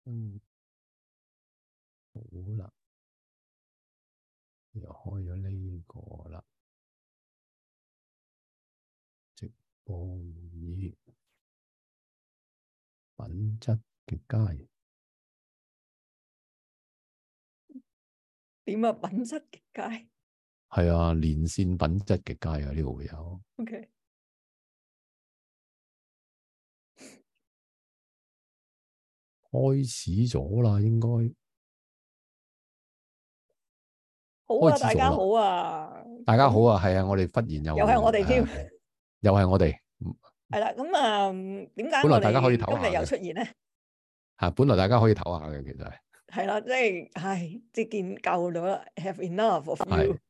嗯，好啦，又開咗呢個啦，直播會議，品質極佳。 點啊？品質極佳？ 係啊，連線品質極佳啊！呢個會有。 OK。 開始咗啦，應該好啊， 開始咗啦。 大家好啊， 大家好啊，係啊，我哋忽然又係我哋添， 又係我哋。 係啦，咁啊，點解本來大家可以我哋今日又出現咧？ 嚇，本來大家可以唞下嘅，其實係啦，即係，唉，即係見夠咗啦 ，have enough of you。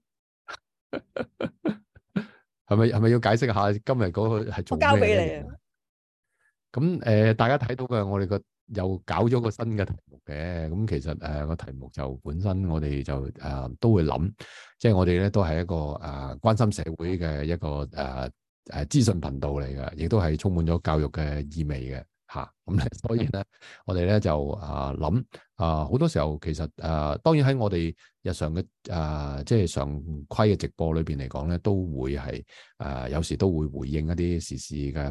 係咪要解釋下今日嗰個係做咩咧？ 我交俾你啊。 咁大家睇到嘅，我哋又搞咗個新嘅題目嘅。咁其實個題目就本身我哋就都會諗，即係我哋咧都係一個關心社會嘅一個資訊頻道嚟嘅，亦都係充滿咗教育嘅意味嘅嚇。咁咧，所以咧我哋咧就諗好多時候其實當然喺我哋日常嘅即係常規嘅直播裏邊嚟講咧，都會係有時都會回應一啲時事嘅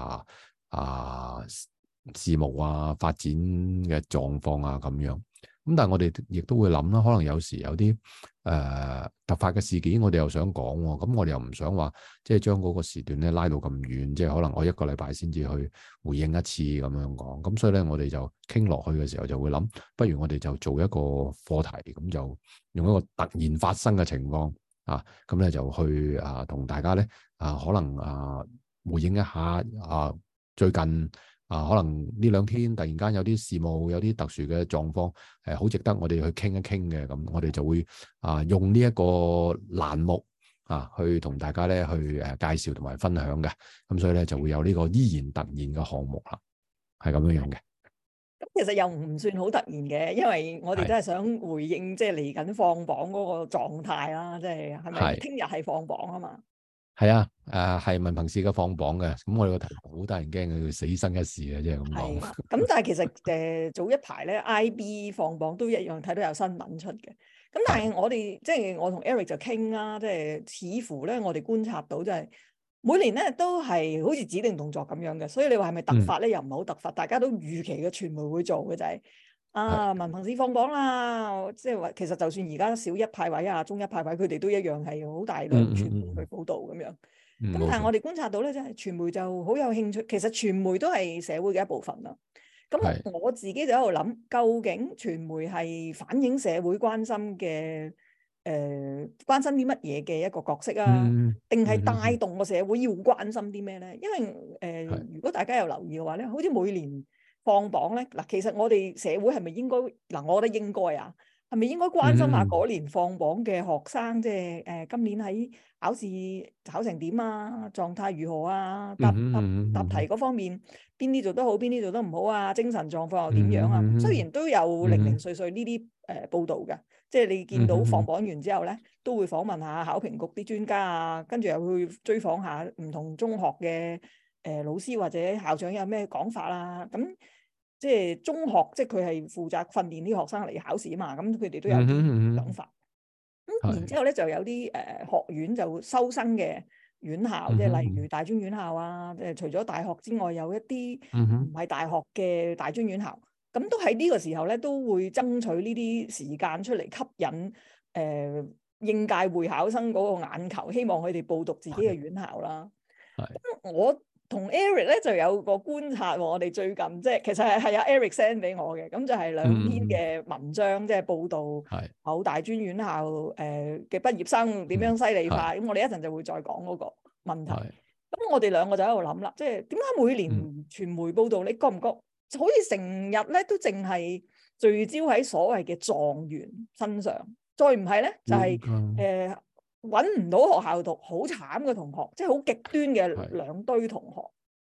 事務發展嘅狀況咁樣，咁但係我哋亦都會諗啦，可能有時有啲突發嘅事件，我哋又想講喎，咁我哋又唔想話即係將嗰個時段咧拉到咁遠，即係可能我一個禮拜先至去回應一次咁樣講，咁所以咧我哋就傾落去嘅時候就會諗，不如我哋就做一個課題，咁就用一個突然發生嘅情況咁咧就去同大家咧可能回應一下最近可能呢兩天突然間有啲事務，有啲特殊嘅狀況，好值得我哋去傾一傾嘅。咁我哋就會用呢一個欄目去同大家咧去介紹同埋分享嘅。咁所以咧就會有呢個依然突然嘅項目啦，係咁樣樣嘅。 咁其實又唔算好突然嘅，因為我哋真係想回應即係嚟緊放榜嗰個狀態啦，即係係咪聽日係放榜啊嘛？ 係啊，係文憑試嘅放榜嘅，咁我哋個題目好得人驚嘅，叫死生一事嘅，即係咁講。 咁但係其實早一排咧 IB 放榜都一樣睇到有新聞出嘅，咁但係我哋即係我同 Eric 就傾啦，即係似乎咧我哋觀察到就係每年咧都係好似指定動作咁樣嘅，所以你話係咪突發咧？又唔係好突發，大家都預期嘅傳媒會做嘅就係文憑試放榜啦，即係話其實就算而家小一派位中一派位，佢哋都一樣係好大量傳媒去報導咁樣。咁但係我哋觀察到咧，即係傳媒就好有興趣。其實傳媒都係社會嘅一部分啦。咁我自己就喺度諗，究竟傳媒係反映社會關心嘅關心啲乜嘢嘅一個角色定係帶動個社會要關心啲咩咧？因為如果大家有留意嘅話咧，好似每年放榜咧，嗱，其實我哋社會係咪應該我覺得應該係咪應該關心下嗰年放榜嘅學生，即係今年喺考試考成點狀態如何答題嗰方面邊啲做得好，邊啲做得唔好精神狀況又點樣雖然都有零零碎碎呢啲報導嘅，即係你見到放榜完之後咧，都會訪問下考評局啲專家跟住又會追訪下唔同中學嘅老師或者校長有咩講法咁。即係中學，即係佢係負責訓練啲學生嚟考試嘛，咁佢哋都有啲講法。然之後咧就有啲學院就收生嘅院校，即係例如大專院校即係除咗大學之外，有一啲唔係大學嘅大專院校，咁都喺呢個時候咧都會爭取呢啲時間出嚟吸引應屆會考生嗰個眼球，希望佢哋報讀自己嘅院校啦。咁我同 Eric 咧就有個觀察喎，我哋最近即係其實係阿 Eric send 俾我嘅，咁就係兩篇嘅文章，即係報道某大專院校嘅畢業生點樣犀利化。咁我哋一陣就會再講嗰個問題。咁我哋兩個就喺度諗啦，即係點解每年傳媒報道，你覺唔覺好似成日咧都淨係聚焦喺所謂嘅狀元身上，再唔係咧就係揾唔到學校讀，好慘嘅同學，即係好極端嘅兩堆同學。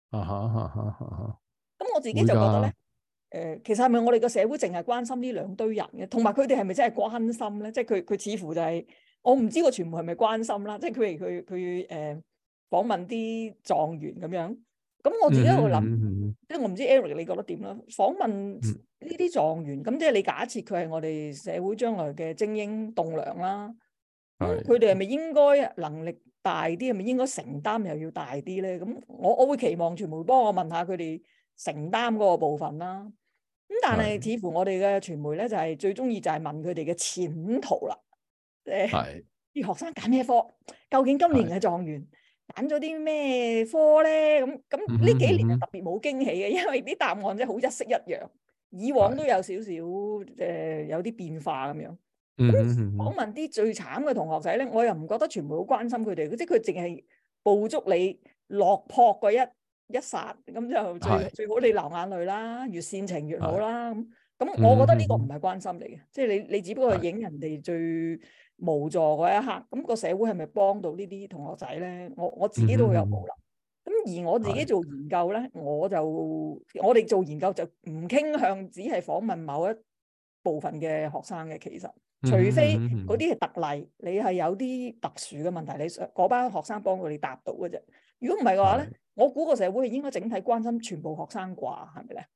咁我自己就覺得咧，其實係咪我哋個社會淨係關心呢兩堆人嘅？同埋佢哋係咪真係關心咧？即係佢似乎就係我唔知個傳媒係咪關心啦。即係佢訪問啲狀元咁樣。咁我自己喺度諗，即係我唔知 Eric 你覺得點啦？訪問呢啲狀元，咁即係你假設佢係我哋社會將來嘅精英棟梁啦，咁佢哋係咪應該能力大啲？係咪應該承擔又要大啲咧？咁我會期望傳媒幫我問下佢哋承擔嗰個部分啦。咁但係似乎我哋嘅傳媒咧就係最中意就係問佢哋嘅前途啦。啲學生揀咩科？究竟今年嘅狀元揀咗啲咩科咧？咁呢幾年係特別冇驚喜嘅，因為啲答案即係好一式一樣。以往都有少少有啲變化咁樣。咁訪問啲最慘嘅同學仔咧，我又唔覺得傳媒好關心佢哋，即係佢淨係捕捉你落魄嗰一剎，咁就最好你流眼淚啦，越煽情越好啦。咁我覺得呢個唔係關心嚟嘅，即係你只不過係影人哋最無助嗰一刻。咁個社會係咪幫到呢啲同學仔咧？我自己都會有保留。咁而我自己做研究咧，我哋做研究就唔傾向只係訪問某一部分嘅學生嘅，其實除非嗰啲係特例，你係有啲特殊嘅問題，你嗰班學生幫佢哋答到嘅啫。如果唔係嘅話咧，我估個社會係應該整體關心全部學生啩，係咪咧？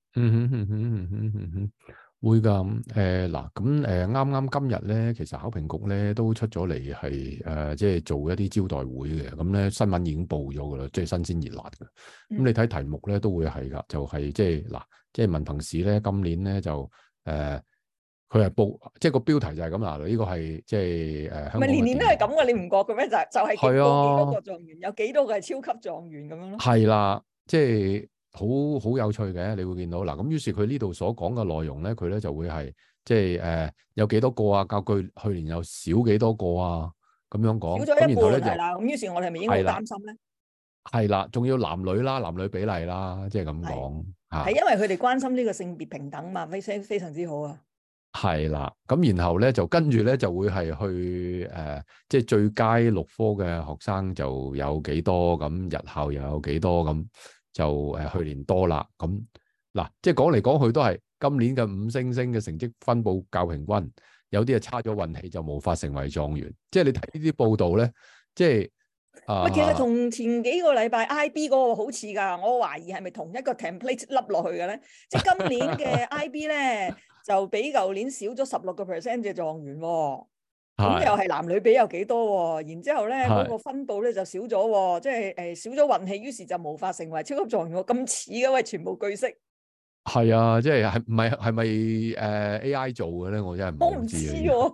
會㗎。嗱，咁啱啱今日咧，其實考評局咧都出咗嚟係即係做一啲招待會嘅。咁咧新聞已經報咗㗎啦，即係新鮮熱辣嘅。咁你睇題目咧都會係㗎，就係即係嗱，即係文憑試咧今年咧就佢係報，即係個標題就係咁啦。呢個係即係香港。唔係年年都係咁嘅，你唔覺嘅咩？就係幾多個狀元，有幾多個係超級狀元咁樣咯。係啦，即係好有趣嘅。你會見到嗱，咁於是佢呢度所講嘅內容咧，佢咧就會係即係有幾多個啊？較去年又少幾多個啊？咁樣講少咗一半係啦。咁於是我哋係咪應該擔心咧？係啦，仲要男女啦，男女比例啦，即係咁講嚇。係因為佢哋關心呢個性別平等嘛，非常之好啊。係啦，咁然後咧就跟住咧就會係去即係最佳6科嘅學生就有幾多，咁日校又有幾多，咁就去年多啦。咁嗱，即係講嚟講去都係今年嘅5星星嘅成績分佈較平均，有啲係差咗運氣就無法成為狀元。即係你睇呢啲報道咧，即係喂，其實同前幾個禮拜 IB 嗰個好似㗎，我懷疑係咪同一個 template 笠落去嘅咧？即係今年嘅 IB 咧。就比舊年少咗16% 嘅狀元喎，咁又係男女比有幾多喎？然之後咧嗰個分佈咧就少咗喎，即係少咗運氣，於是就無法成為超級狀元喎。咁似嘅喂，全部句式。係啊，即係係咪AI 做嘅咧？我真係唔知喎。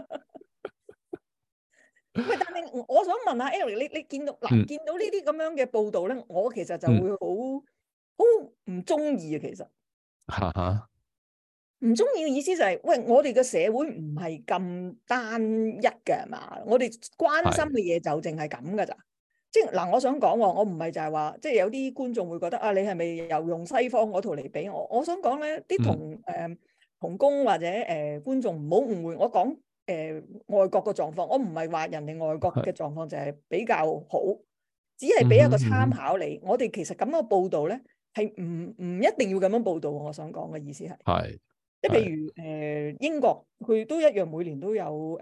喂，但係我想問下 Eric，你見到見到呢啲咁樣嘅報導咧，我其實就會好唔中意啊，其實。嚇！唔中意嘅意思就係，喂，我哋嘅社會唔係咁單一嘅係嘛？我哋關心嘅嘢就淨係咁噶咋？即係嗱，我想講喎，我唔係就係話，即係有啲觀眾會覺得啊，你係咪又用西方嗰套嚟比我？我想講咧，啲同工或者觀眾唔好誤會，我講外國嘅狀況，我唔係話人哋外國嘅狀況就係比較好，只係俾一個參考你。我哋其實咁樣報導咧，係唔一定要咁樣報導。我想講嘅意思係。即係譬如英國佢都一樣每年都有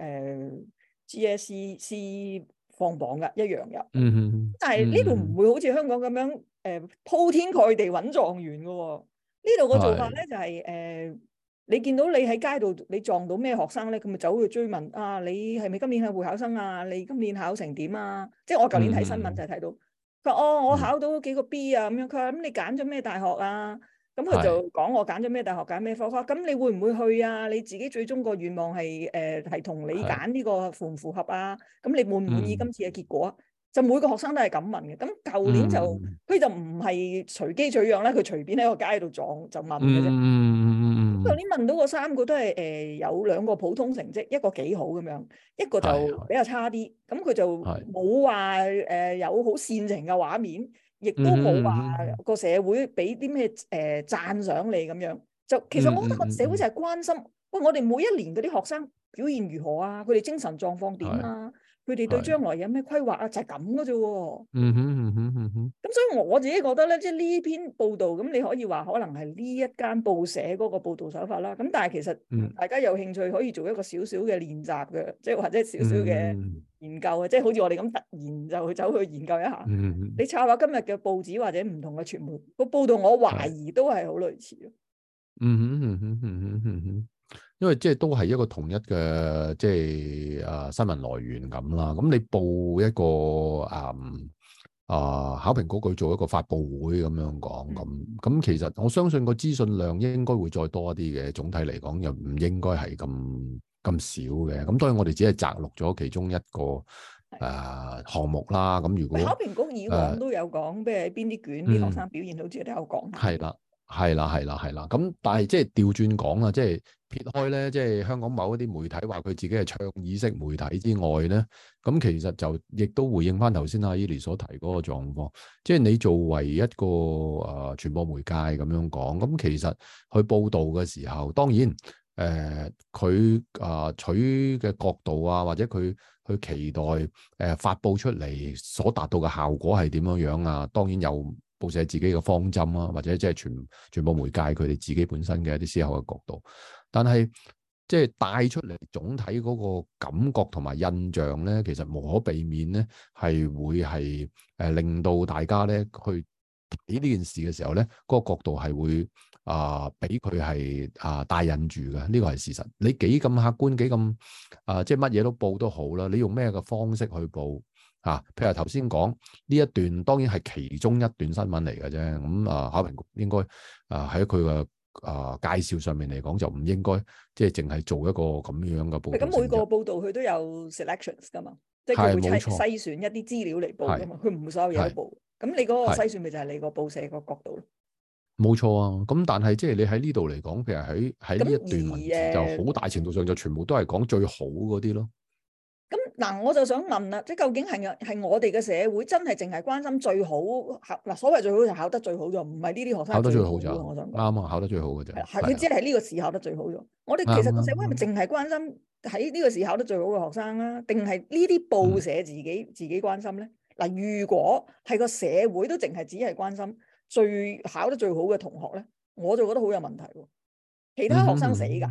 GSC 放榜㗎，一樣有。但係呢度唔會好似香港咁樣鋪天蓋地揾狀元㗎喎。呢度個做法咧就係你見到你喺街度你撞到咩學生咧，咁咪走去追問啊，你係咪今年係會考生啊？你今年考成點啊？即係我舊年睇新聞就睇到，佢話我考到幾個 B 啊咁樣。佢話咁你揀咗咩大學啊？咁佢就講我揀咗咩大學，揀咩科。咁你會唔會去啊？你自己最終個願望係同你揀呢個符唔符合啊？咁你滿唔滿意今次嘅結果？就每個學生都係咁問嘅。咁舊年就佢就唔係隨機取樣咧，佢隨便喺個街度撞就問嘅啫。舊年問到個3個都係有2個普通成績，一個幾好咁樣，一個就比較差啲。咁佢就冇話有好煽情嘅畫面。亦都冇話個社會俾啲咩讚賞你咁樣，就其實我覺得個社會就係關心，喂，我哋每一年嗰啲學生表現如何啊？佢哋精神狀況點啊？佢哋對將來有咩規劃啊？就係咁嘅啫喎。咁所以我自己覺得咧，即係呢篇報道咁，你可以話可能係呢一間報社嗰個報道手法啦。咁但係其實大家有興趣可以做一個少少嘅練習嘅，即係或者少少嘅研究嘅，即係好似我哋咁突然就走去研究一下。你抄下今日嘅報紙或者唔同嘅傳媒個報道，我懷疑都係好類似咯。 因為即係都係一個同一嘅即係新聞來源咁啦。咁你報一個考評局佢做一個發佈會咁樣講咁，其實我相信個資訊量應該會再多一啲嘅。總體嚟講又唔應該係咁少嘅。咁當然我哋只係摘錄咗其中一個項目啦。咁如果考評局以往都有講，譬如喺邊啲卷啲學生表現好似都有講。 係啦。咁但係即係調轉講啦，即係撇開咧，即係香港某一啲媒體話佢自己係倡議式媒體之外咧，咁其實就亦都回應翻頭先阿 Eli 所提嗰個狀況，即係你作為一個傳播媒介咁樣講，咁其實去報導嘅時候，當然佢取嘅角度啊，或者佢去期待發佈出嚟所達到嘅效果係點樣樣啊，當然有報社自己嘅方針啊，或者即係傳播媒介佢哋自己本身嘅一啲思考嘅角度，但係即係帶出嚟總體嗰個感覺同埋印象咧，其實無可避免咧係會係令到大家咧去睇呢件事嘅時候咧，嗰個角度係會俾佢係帶引住嘅，呢個係事實。你幾咁客觀，幾咁即係乜嘢都報都好啦，你用咩嘅方式去報？譬如頭先講呢一段，當然係其中一段新聞嚟嘅啫。咁考評局應該喺佢嘅介紹上面嚟講，就唔應該即係淨係做一個咁樣嘅報導。 咁每個報導佢都有 selections 噶嘛，即係佢會篩選一啲資料嚟報噶嘛，佢唔會所有嘢都報。咁你嗰個篩選咪就係你個報社個角度咯。 冇錯啊，咁但係即係你喺呢度嚟講，譬如喺呢一段文字就好大程度上就全部都係講最好嗰啲咯。 咁嗱，我就想問啦，即係究竟係我哋嘅社會真係淨係關心最好嗱？所謂最好就考得最好咗，唔係呢啲學生考得最好就我想講啱啊，考得最好嘅啫。 係佢只係呢個試考得最好咗。我哋其實個社會係咪淨係關心喺呢個試考得最好嘅學生啊？定係呢啲報社自己關心咧？嗱，如果係個社會都淨係只係關心最考得最好嘅同學咧，我就覺得好有問題喎。其他學生死㗎。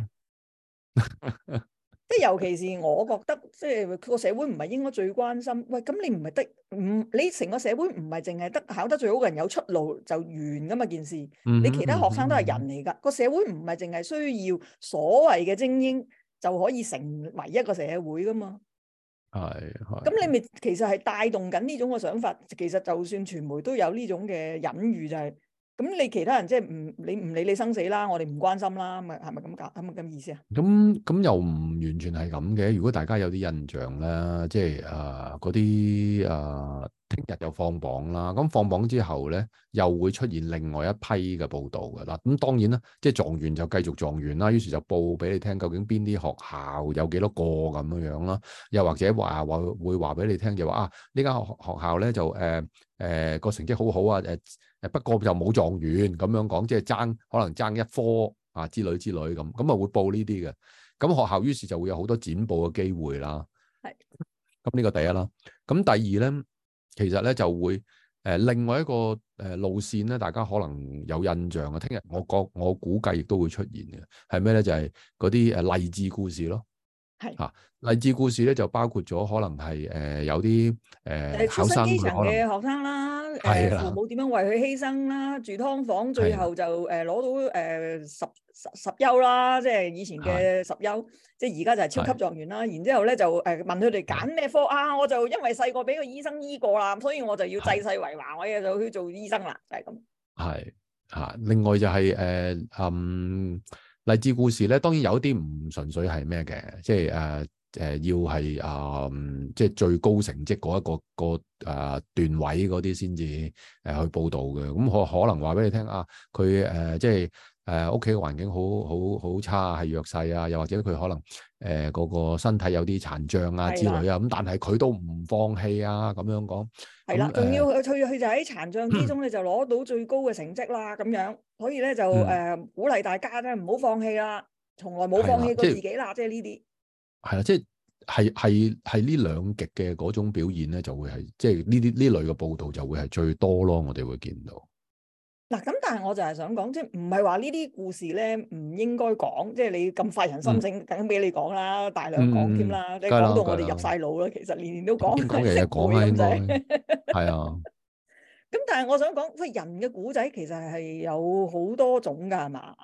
即係尤其是我覺得，即係個社會唔係應該最關心。喂，咁你唔係你成個社會唔係淨係得考得最好嘅人有出路就完噶嘛件事。你其他學生都係人嚟噶，個社會唔係淨係需要所謂嘅精英就可以成為一個社會噶嘛。 係。 咁你咪其實係帶動緊呢種嘅想法。其實就算傳媒都有呢種嘅隱喻，就係咁你其他人即係你唔理你生死啦，我哋唔關心啦，係咪咁講？係咪咁意思啊？ 咁又唔完全係咁嘅。如果大家有啲印象咧，即係嗰啲聽日又放榜啦。咁放榜之後咧，又會出現另外一批嘅報導㗎啦。咁當然啦，即係狀元就繼續狀元啦。於是就報俾你聽，究竟邊啲學校有幾多個咁樣啦。又或者會話俾你聽，就話呢間學校咧就個成績好好啊。不過就冇狀元咁樣講，即係可能爭一科之類咁啊，會報呢啲嘅。咁學校於是就會有好多剪報嘅機會啦。係。咁呢個第一啦。咁第二咧，其實咧就會另外一個路線咧，大家可能有印象啊。聽日我估計亦都會出現嘅係咩咧？就係嗰啲勵志故事咯。係。勵志故事咧就包括咗可能係有啲考生基層嘅學生啦，父母點樣為佢犧牲啦，住劏房最後就攞到十優啦，即係以前嘅十優，即係而家就係超級狀元啦。然之後咧就問佢哋揀咩科啊，我就因為細個俾個醫生醫過啦，所以我就要濟世為華，我就去做醫生啦，就係咁。 係另外就係勵志故事咧，當然有啲唔純粹係咩嘅，即係要係即係最高成績嗰一個段位嗰啲先至去報導嘅。咁可能話俾你聽佢即係屋企嘅環境好差，係弱勢啊，又或者佢可能嗰個身體有啲殘障啊之類啊。咁但係佢都唔放棄啊，咁樣講。係啦， 仲要佢就喺殘障之中咧就攞到最高嘅成績啦，咁樣。所以咧就鼓勵大家咧唔好放棄啦，從來冇放棄過自己啦，即係呢啲。係啦， 即係呢兩極嘅嗰種表現咧，就會係即係呢類嘅報導就會係最多咯，我哋會見到。 嗱，咁但係我就係想講，即係唔係話呢啲故事咧唔應該講，即係你咁發人心醒，梗俾你講啦，大量講添啦，你講到我哋入晒腦啦，其實年年都講， 講日日講啦，應該係啊。 咁但係我想講，喂，人嘅古仔其實係有好多種㗎，係嘛？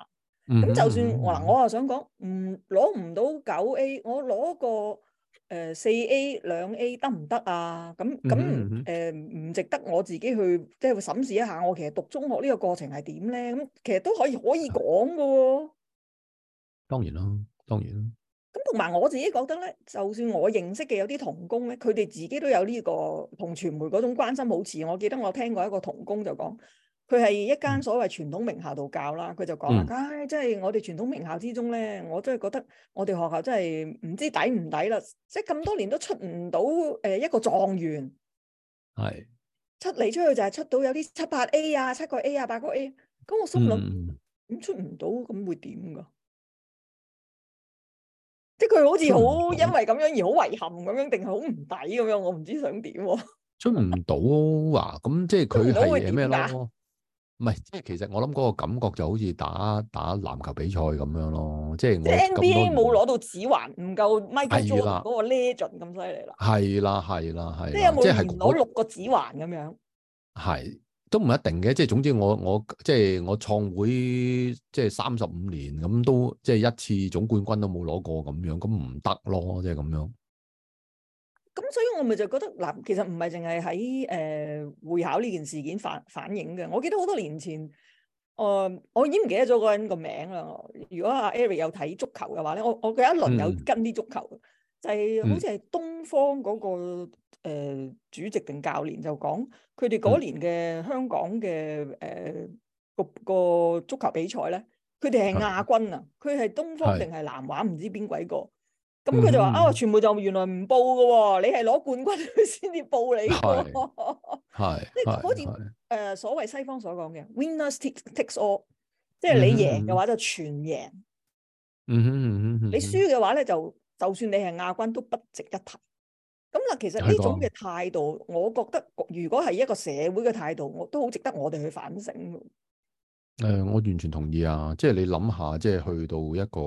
咁就算我又想講，攞唔到9A，我攞個4A 2A 得唔得啊？咁唔值得我自己去即係審視一下，我其實讀中學呢個過程係點咧？咁其實都可以講噶喎。 當然啦，當然啦。 咁同埋我自己覺得咧，就算我認識嘅有啲同工咧，佢哋自己都有呢個同傳媒嗰種關心好似。我記得我聽過一個同工就講，佢係一間所謂傳統名校度教啦，佢就講啦，唉，即係我哋傳統名校之中咧，我真係覺得我哋學校真係唔知抵唔抵啦，即係咁多年都出唔到一個狀元，係出嚟出去就係出到有啲7、8A 啊，7個 A 啊，8個 A，咁我心諗咁出唔到咁會點噶？即係佢好似好因為咁樣而好遺憾咁樣，定係好唔抵咁樣？我唔知想點喎。出唔到啊？咁即係佢係咩咯？唔係，即係其實我諗嗰個感覺就好似打籃球比賽咁樣咯。即係我 NBA 冇攞到指環，唔夠 Michael Jordan 嗰個 Legend 咁犀利啦。係啦。即係有冇連攞6個指環咁樣？係。都唔一定嘅，即係總之我即係我創會即係35年咁都即係一次總冠軍都冇攞過咁樣，咁唔得咯，即係咁樣。咁所以我咪就覺得嗱，其實唔係淨係喺會考呢件事件反映嘅。我記得好多年前，我已經唔記得咗嗰個人個名啦。如果阿 Eric 有睇足球嘅話咧，我佢一輪有跟啲足球，就係好似係東方嗰個主席定教練就講，佢哋嗰年嘅香港嘅個足球比賽咧，佢哋係亞軍啊，佢係東方定係南華唔知邊鬼個，咁佢就話傳媒就原來唔報㗎喎，你係攞冠軍佢先至報你㗎，即係好似所謂西方所講嘅 winners takes all， 即係你贏嘅話就全贏，你輸嘅話咧就算你係亞軍都不值一提。咁嗱，其實呢種嘅態度，我覺得如果係一個社會嘅態度，我都好值得我哋去反省。 我完全同意啊！即係你諗下，即係去到一個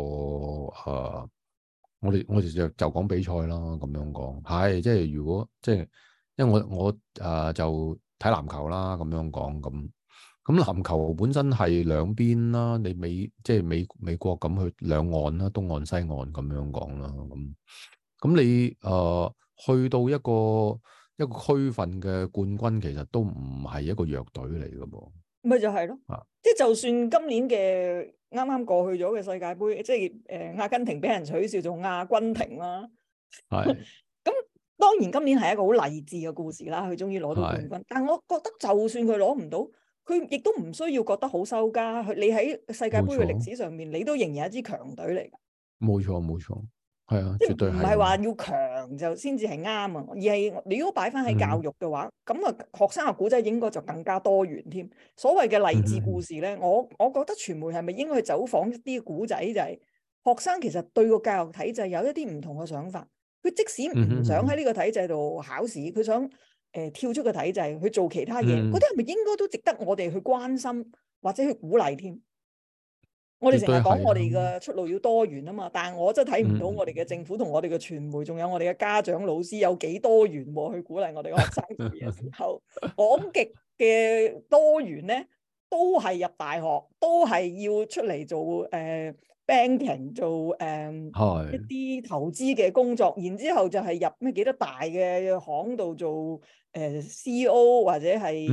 我哋就講比賽啦，咁樣講係即係如果即係，因為我就睇籃球啦，咁樣講咁籃球本身係兩邊啦，你即係美國咁去兩岸啦，東岸西岸咁樣講啦，咁你去到一個區份嘅冠軍，其實都唔係一個弱隊嚟嘅噃。咪就係咯，即係就算今年嘅啱啱過去咗嘅世界盃，即係阿根廷俾人取笑做亞軍廷啦。係。咁當然今年係一個好勵志嘅故事啦，佢終於攞到冠軍。但係我覺得就算佢攞唔到，佢亦都唔需要覺得好收家。你喺世界盃嘅歷史上面，你都仍然係一支強隊嚟㗎。冇錯。係啊，絕對係。唔係話要強就先至係啱啊，而係你如果擺翻喺教育嘅話，咁學生嘅古仔應該就更加多元添。所謂嘅勵志故事咧，我覺得傳媒係咪應該去走訪一啲古仔，就係學生其實對個教育體制有一啲唔同嘅想法。佢即使唔想喺呢個體制度考試，佢想跳出個體制去做其他嘢，嗰啲係咪應該都值得我哋去關心或者去鼓勵添？我哋成日講我哋嘅出路要多元啊嘛，但係我真係睇唔到我哋嘅政府同我哋嘅傳媒，仲有我哋嘅家長老師有幾多元去鼓勵我哋嘅學生做嘢嘅時候，講極嘅多元咧，都係入大學，都係要出嚟做banking 做一啲投資嘅工作，然之後就係入咩幾多大嘅行度做CEO 或者係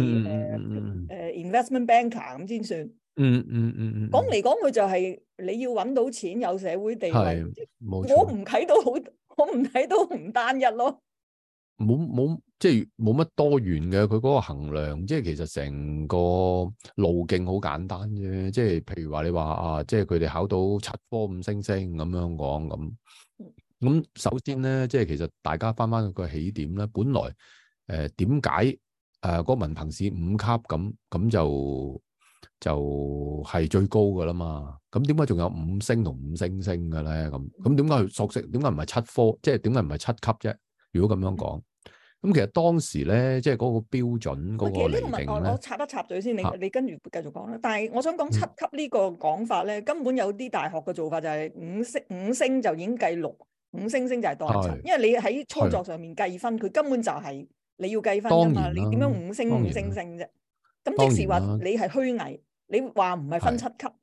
investment banker 咁先算。講嚟講去就係你要揾到錢，有社會地位。我唔睇到唔單一咯。冇即係冇乜多元嘅，佢嗰個衡量，即係其實成個路徑好簡單啫。即係譬如話你話即係佢哋考到7科5星星咁樣講咁。首先咧，即係其實大家翻個起點咧，本來點解嗰個文憑試5級咁就係最高噶啦嘛，咁點解仲有5星同5星星嘅咧？咁點解佢索性點解唔係7科？即係點解唔係7級啫？如果咁樣講，咁其實當時咧，即係嗰個標準嗰個釐定咧，我插一插嘴先，你跟住繼續講啦。但係我想講7級呢個講法咧，根本有啲大學嘅做法就係5星就已經計6，5星星就係當係7，因為你喺操作上面計分，佢根本就係你要計分噶嘛。你點樣5星5星星啫？咁即使話你係虛偽，你話唔係分7級，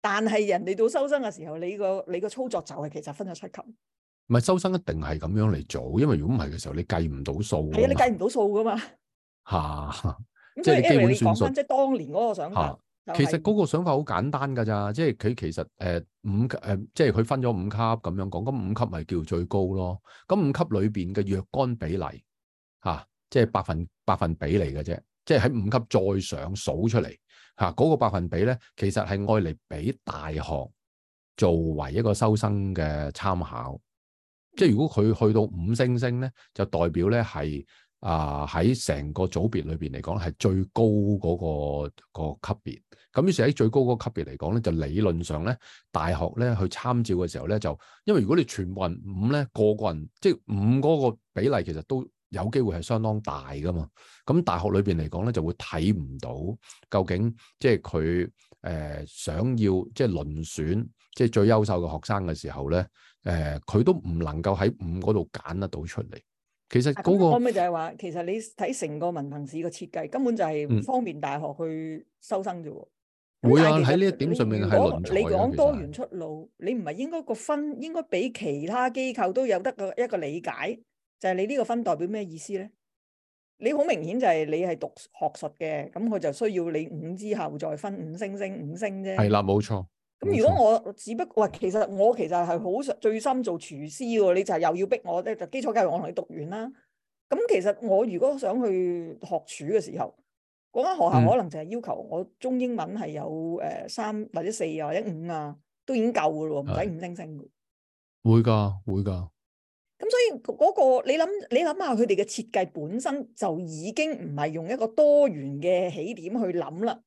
但係人哋到收生嘅時候，你個操作就係其實分咗七級。 唔係收生一定係咁樣嚟做，因為如果唔係嘅時候，你計唔到數。 係啊，你計唔到數噶嘛。 嚇， 咁所以即係你基本你算數。 講翻即係當年嗰個想法， 其實嗰個想法好簡單㗎咋，即係佢其實即係佢分咗5級咁樣講，咁5級咪叫最高咯。咁5級裏邊嘅若干比例即係百分比嚟嘅啫，即係喺5級再上數出嚟嗰個百分比咧，其實係愛嚟俾大學作為一個收生嘅參考。即係如果佢去到5星星咧，就代表咧係喺成個組別裏邊嚟講係最高嗰個級別。咁於是喺最高嗰個級別嚟講咧，就理論上咧，大學咧去參照嘅時候咧，就因為如果你全部人5咧，個人即係5嗰個比例，其實都有機會係相當大噶嘛。咁大學裏邊嚟講咧，就會睇唔到究竟即係佢想要即係遴選即係最優秀嘅學生嘅時候咧，佢都唔能夠喺5嗰度揀得到出嚟。其實嗰個我咪就係話，其實你睇成個文憑試嘅設計，根本就係方便大學去收生啫。 會啊，喺呢一點上面係論才。 你講多元出路，你唔係應該個分應該俾其他機構都有得一個理解，就係你呢個分代表咩意思咧？你好明顯就係你係讀學術嘅，咁佢就需要你5之後再分5星星5星啫。係啦，冇錯。 咁如果我只不過喂，其實係好最深做廚師喎，你就係又要逼我咧，就基礎教育我同你讀完啦。咁其實我如果想去學廚嘅時候，嗰間學校可能就係要求我中英文係有3或者4或者5啊，都已經夠噶咯，唔使5星星。 會噶。 咁所以嗰個你諗下，佢哋嘅設計本身就已經唔係用一個多元嘅起點去諗啦。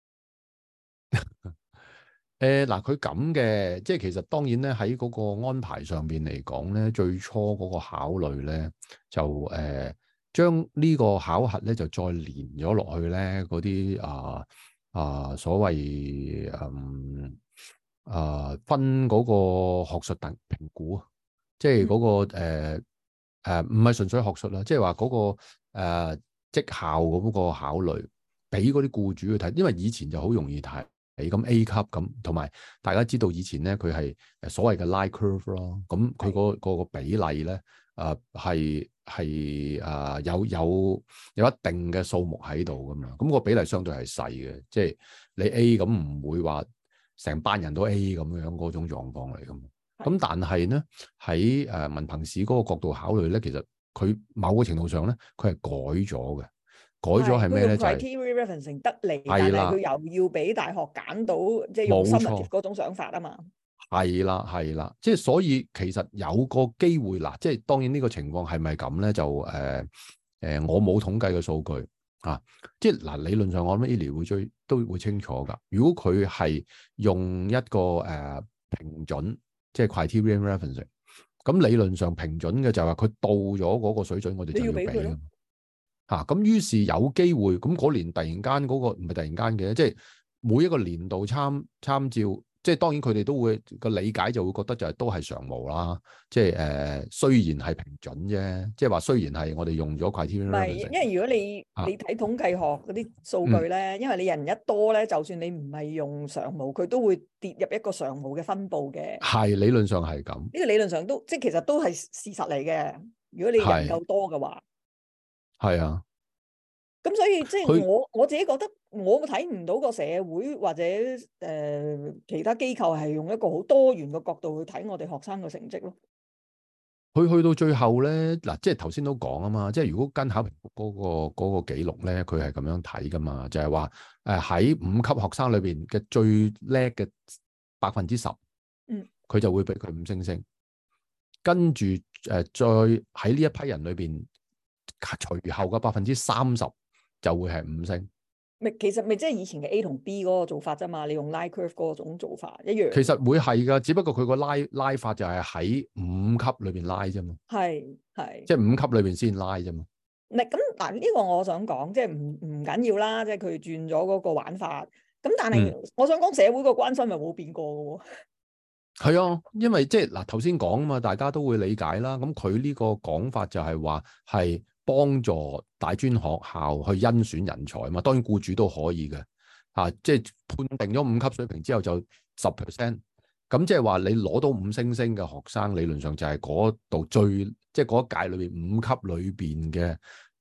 嗱，佢咁嘅，即係其實當然咧喺嗰個安排上邊嚟講咧，最初嗰個考慮咧就將呢個考核咧就再連咗落去咧嗰啲所謂分嗰個學術評估啊，即係嗰個唔係純粹學術啦，即係話嗰個績效嗰個考慮，俾嗰啲僱主去睇，因為以前就好容易睇。咁 A 級咁，同埋大家知道以前咧，佢係所謂嘅 line curve 咯。咁佢嗰個比例咧，係有一定嘅數目喺度噶嘛。咁個比例相對係細嘅，即係你 A 咁唔會話成班人都 A 咁樣嗰種狀況嚟噶嘛。咁但係咧喺文憑試嗰個角度考慮咧，其實佢某個程度上咧，佢係改咗嘅。改咗係咩咧？就係 criteria referencing 得嚟，但係佢又要俾大學揀到，即係用 summative 嗰種想法啊嘛。 係啦，即係所以其實有個機會嗱，即係當然呢個情況係咪咁咧？就我冇統計嘅數據啊，即係嗱理論上我諗 Eli 都會清楚㗎。如果佢係用一個評準，即係 criteria referencing，咁理論上評準嘅就係話佢到咗嗰個水準，我哋就要俾㗎。咁於是有機會，咁嗰年突然間嗰個唔係突然間嘅，即係每一個年度參照，即係當然佢哋都會個理解就會覺得就係都係常模啦，即係雖然係評準啫，即係話雖然係我哋用咗 criteria， 唔係，因為如果你睇統計學嗰啲數據咧，因為你人一多咧，就算你唔係用常模，佢都會跌入一個常模嘅分佈嘅。係理論上係咁， 呢個理論上都即係其實都係事實嚟嘅。如果你人夠多嘅話。 係啊， 咁所以即係我自己覺得，我睇唔到個社會或者其他機構係用一個好多元嘅角度去睇我哋學生嘅成績咯。 佢去到最後咧，嗱，即係頭先都講啊嘛，即係如果跟考評局嗰個記錄咧，佢係咁樣睇噶嘛，就係話喺5級學生裏邊嘅最叻嘅10%，佢就會俾佢5星星，跟住再喺呢一批人裏邊。隨後嘅30%就會係5星， 其實咪即係以前嘅 A 同 B 嗰個做法啫嘛，你用 line curve 嗰種做法一樣。 其實會係噶，只不過佢個拉法就係喺5級裏邊拉啫嘛。係，即係5級裏邊先拉啫嘛。 嗱呢個我想講，即係唔緊要啦，即係佢轉咗嗰個玩法。咁但係我想講社會個關心係冇變過嘅喎。係啊，因為即係嗱頭先講啊嘛，大家都會理解啦。咁佢呢個講法就係話係幫助大專學校去甄選人才嘛，當然僱主都可以嘅，即係判定咗5級水平之後就 10%，咁即係話你攞到5星星嘅學生，理論上就係嗰度即係嗰一屆裏邊5級裏邊嘅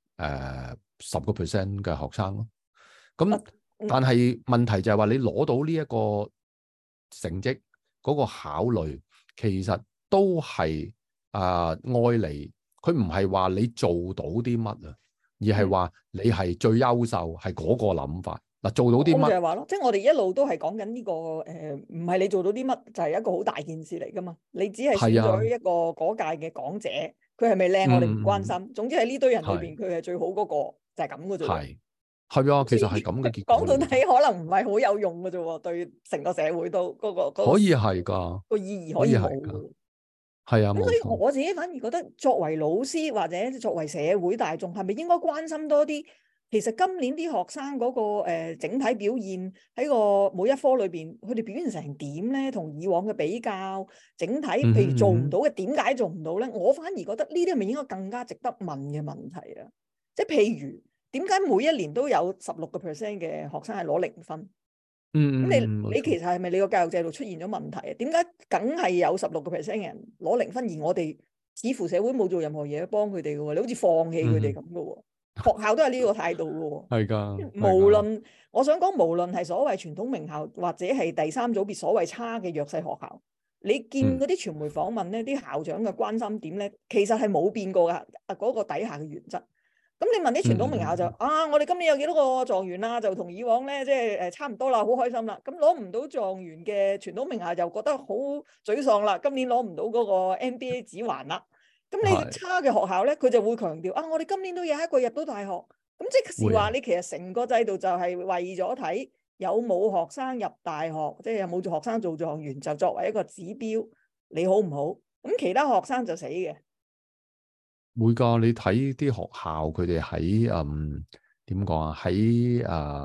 10% 嘅學生咯。咁但係問題就係話你攞到呢一個成績嗰個考慮，其實都係愛嚟，佢唔係話你做到啲乜啊，而係話你係最優秀，係嗰個諗法。嗱，做到啲乜？ 就係話咯，即係我哋一路都係講緊呢個唔係你做到啲乜就係一個好大件事嚟噶嘛。你只係選咗一個嗰屆嘅港姐，佢係咪靚我哋唔關心。總之喺呢堆人裏邊，佢係最好嗰個，就係咁嘅啫。係啊，其實係咁嘅結果。 講到底可能唔係好有用嘅啫，對成個社會都嗰個可以係㗎， 個意義可以冇。 係啊， 咁所以我自己反而覺得，作為老師或者作為社會大眾，係咪應該關心多啲？其實今年啲學生嗰個整體表現喺個每一科裏邊，佢哋表現成點咧？同以往嘅比較，整體譬如做唔到嘅，點解做唔到咧？我反而覺得呢啲係咪應該更加值得問嘅問題啊？即係譬如點解每一年都有16% 嘅學生係攞0分？咁你其實係咪你個教育制度出現咗問題啊？點解梗係有16% 嘅人攞0分，而我哋似乎社會冇做任何嘢幫佢哋嘅喎？你好似放棄佢哋咁嘅喎？學校都係呢個態度嘅喎。 係㗎。 無論我想講，無論係所謂傳統名校，或者係第三組別所謂差嘅弱勢學校，你見嗰啲傳媒訪問咧，啲校長嘅關心點咧，其實係冇變過㗎。嗰個底下嘅原則。咁你問啲傳統名校就我哋今年有幾多個狀元啦？就同以往咧，即係差唔多啦，好開心啦。咁攞唔到狀元嘅傳統名校就覺得好沮喪啦。今年攞唔到嗰個 NBA 指環啦。咁你差嘅學校咧，佢就會強調我哋今年都有一個入到大學。咁即係話你其實成個制度就係為咗睇有冇學生入大學，即係有冇學生做狀元，就作為一個指標，你好唔好？咁其他學生就死嘅。 會㗎，你睇啲學校佢哋喺點講啊？喺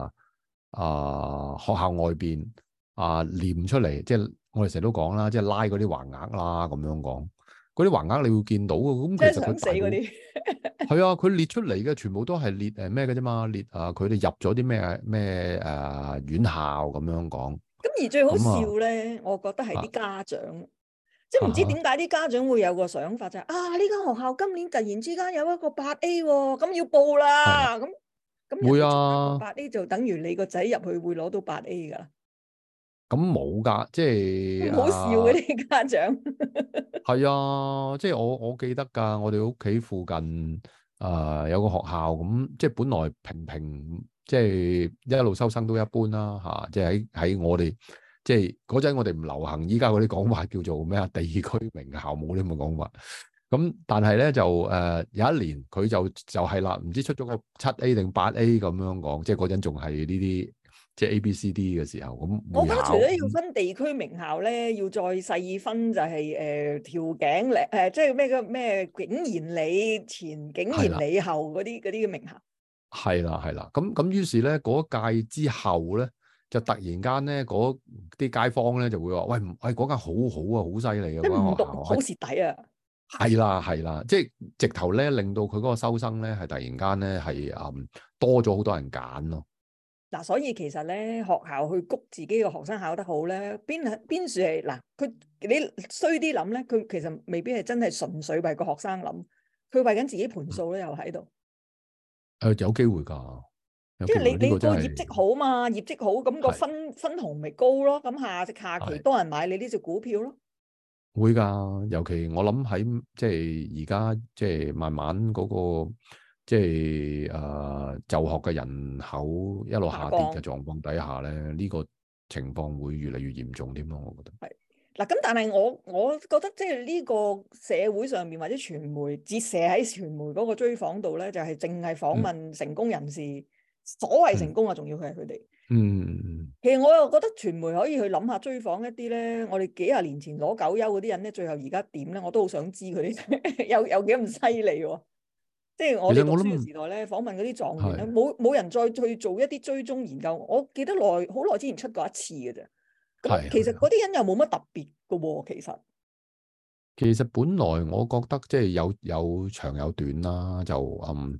學校外邊唸出嚟，即係我哋成日都講啦，即係拉嗰啲橫額啦，咁樣講嗰啲橫額你會見到嘅。咁其實佢死嗰啲係啊，佢列出嚟嘅全部都係列咩嘅啫嘛，列佢哋入咗啲咩院校咁樣講。咁而最好笑咧，我覺得係啲家長。即係唔知點解啲家長會有個想法就係呢間學校今年突然之間有一個8A 喎，咁要報啦。咁會啊 ，8A 就等於你個仔入去會攞到8A 㗎啦。 咁冇㗎，即係好笑嘅啲家長。 係啊，即係我記得㗎，我哋屋企附近有個學校咁，即係本來平，即係一路收生都一般啦即係喺我哋。即係嗰陣我哋唔流行依家嗰啲講法叫做咩地區名校，冇呢咁嘅講法。咁但係咧就有一年佢就係啦，唔知出咗個7A 定8A 咁樣講，即係嗰陣仲係呢啲即係 ABCD 嘅時候咁。 我覺得除咗要分地區名校咧，要再細分就係調景即係咩景賢里前景賢里後嗰啲嘅名校。係啦，咁於是咧嗰屆之後咧。就突然間咧，嗰啲街坊咧就會話：喂，嗰間好好啊，好犀利啊！嗰間學校好蝕底啊！ 係啦，即係直頭咧，令到佢嗰個收生咧係突然間咧係多咗好多人揀咯。 嗱，所以其實咧，學校去谷自己嘅學生考得好咧，邊處係嗱？佢你衰啲諗咧，佢其實未必係真係純粹為個學生諗，佢為緊自己盤數咧，又喺度。 有機會㗎。 即係你個業績好嘛，業績好咁個分紅咪高咯，咁下期多人買你呢隻股票咯。 會㗎，尤其我諗喺即係而家即係慢慢嗰個即係就學嘅人口一路下跌嘅狀況底下咧，呢個情況會越嚟越嚴重添咯，我覺得。 係嗱，咁但係我覺得即係呢個社會上面或者傳媒折射喺傳媒嗰個追訪度咧，就係淨係訪問成功人士。所謂成功啊，仲要佢係佢哋。其實我又覺得傳媒可以去諗下追訪一啲咧，我哋幾廿年前攞9優嗰啲人咧，最後而家點咧？我都好想知佢哋有幾咁犀利喎。即係我哋讀書嘅時代咧，訪問嗰啲狀元咧，冇人再去做一啲追蹤研究。我記得好耐之前出過一次嘅啫。咁其實嗰啲人又冇乜特別嘅喎， 其實本來我覺得即係有長有短啦，就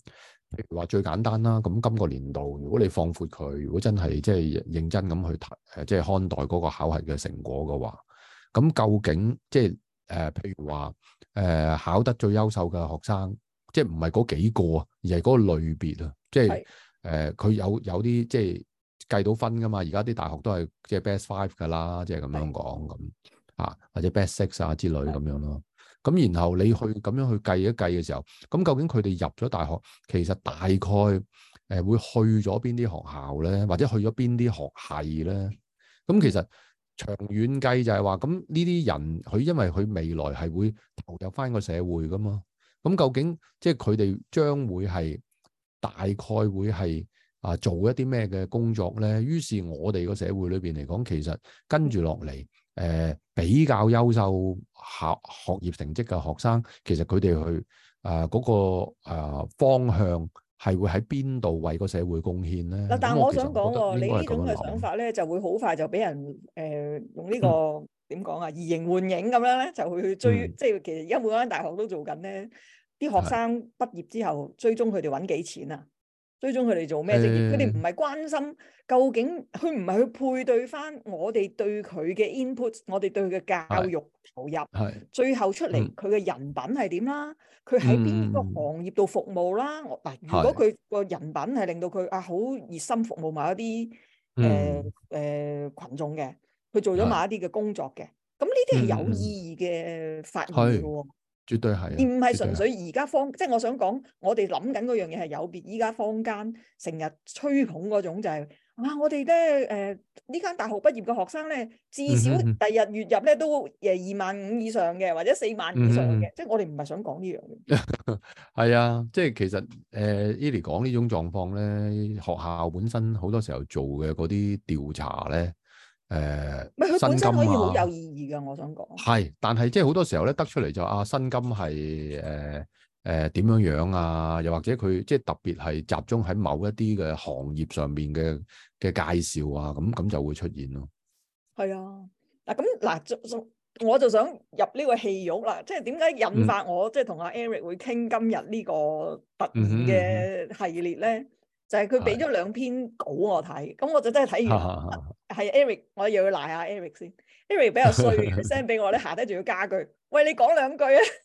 譬如話最簡單啦，咁今個年度如果你放闊佢，如果真係即係認真咁去睇即係看待嗰個考核嘅成果嘅話，咁究竟即係譬如話考得最優秀嘅學生，即係唔係嗰幾個啊，而係嗰個類別啊，即係佢有啲即係計到分噶嘛，而家啲大學都係即係 best five 噶啦，即係咁樣講咁啊，或者 best six 啊之類咁樣咯。咁然後你去咁樣去計一計嘅時候，咁究竟佢哋入咗大學，其實大概會去咗邊啲學校咧，或者去咗邊啲學系咧？咁其實長遠計就係話，咁呢啲人佢因為佢未來係會投入翻個社會噶嘛，咁究竟即係佢哋將會係大概會係做一啲咩嘅工作咧？於是我哋個社會裏邊嚟講，其實跟住落嚟。比較優秀學業成績嘅學生，其實佢哋去嗰個方向係會喺邊度為個社會貢獻咧？ 嗱，但係我想講喎，你呢種嘅想想法咧，就會好快就俾人用呢個點講啊，移形換影咁樣咧，就會去追，即係其實而家每間大學都做緊咧，啲學生畢業之後追蹤佢哋揾幾錢啊？追蹤佢哋做咩職業？佢哋唔係關心究竟，佢唔係去配對翻我哋對佢嘅 input， 我哋對佢嘅教育投入，最後出嚟佢嘅人品係點啦？佢喺邊個行業度服務啦？嗱，如果佢個人品係令到佢好熱心服務某一啲群眾嘅，佢做咗某一啲嘅工作嘅，咁呢啲係有意義嘅發現嚟嘅喎。 絕對係， 而唔係純粹而家即係我想講，我哋諗緊嗰樣嘢係有別。依家坊間成日吹捧嗰種就係我哋咧呢間大學畢業嘅學生咧，至少第日月入咧都25000以上嘅，或者40000以上嘅。即係我哋唔係想講呢樣嘢。 係啊，即係其實Eli 講呢種狀況咧，學校本身好多時候做嘅嗰啲調查咧。 佢本身可以好有意義㗎，我想講。 係，但係即係好多時候咧，得出嚟就薪金係點樣樣啊？又或者佢即係特別係集中喺某一啲嘅行業上面嘅介紹啊，咁就會出現咯。係啊，我就想入呢個戲肉啦，即係點解引發我即係同阿 Eric 會傾今日呢個突然嘅系列咧？就係佢俾咗2篇稿我睇，咁我就真係睇完。係 Eric，我又要賴下 Eric 先。Eric 比較衰嘅，send 俾我咧，下低仲要加句，喂，你講2句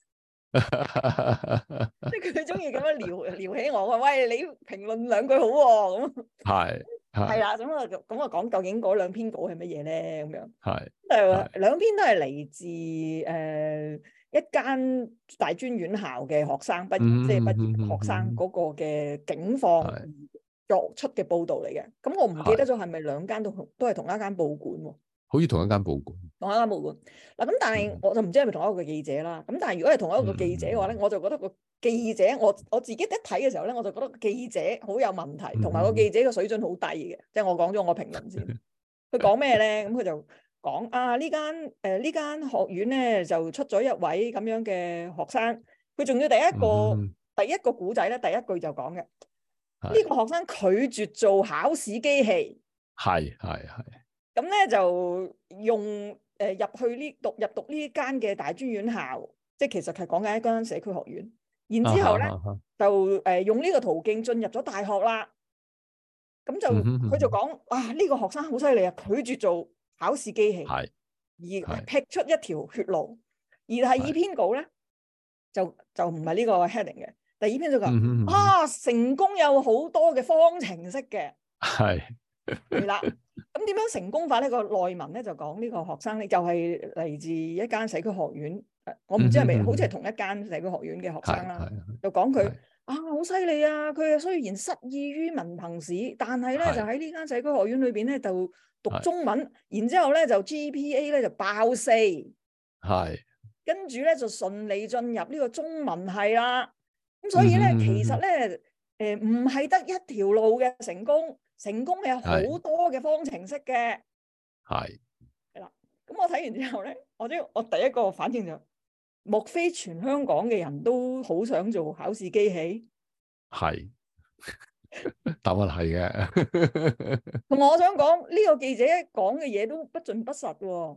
啊！即係佢中意咁樣撩起我，話喂，你評論2句好喎，咁。係啦，咁我講究竟嗰2篇稿係乜嘢咧？咁樣2篇都係嚟自一間大專院校嘅學生畢業，即係畢業學生嗰個嘅境況作出嘅報導嚟嘅。咁我唔記得咗係咪2間都係同一間報館喎？ 好似同一間報館。同一間報館嗱，咁但係我就唔知係咪同一個記者啦。咁但係如果係同一個記者嘅話咧，我就覺得個記者我自己一睇嘅時候咧，我就覺得個記者好有問題，同埋個記者嘅水準好低嘅。即係我講咗我評論先。佢講咩咧？咁佢就講呢間學院咧就出咗一位咁樣嘅學生。佢仲要第一個古仔咧，第一句就講嘅呢個學生拒絕做考試機器。係。咁咧就用入讀呢間嘅大專院校，即係其實係講緊一間社區學院。然之後咧就用呢個途徑進入咗大學啦。咁就佢就講呢個學生好犀利啊，拒絕做考試機器，而劈出一條血路。而第2篇稿咧就唔係呢個 heading 嘅。第2篇就講成功有好多嘅方程式嘅。係啦。咁點樣成功法呢？個內文咧就講呢個學生咧，就係嚟自一間社區學院。我唔知係咪好似係同一間社區學院嘅學生啦。就講佢好犀利啊！佢雖然失意於文憑試，但係咧就喺呢間社區學院裏邊咧就讀中文，然之後咧就 GPA 咧就爆4。跟住咧就順利進入呢個中文系啦。咁所以咧其實咧唔係得一條路嘅成功。成功係有好多嘅方程式嘅。係啦。咁我睇完之後咧，我第一個反應就莫非全香港嘅人都好想做考試機器？係。答案係嘅。同埋我想講呢個記者講嘅嘢都不盡不實喎。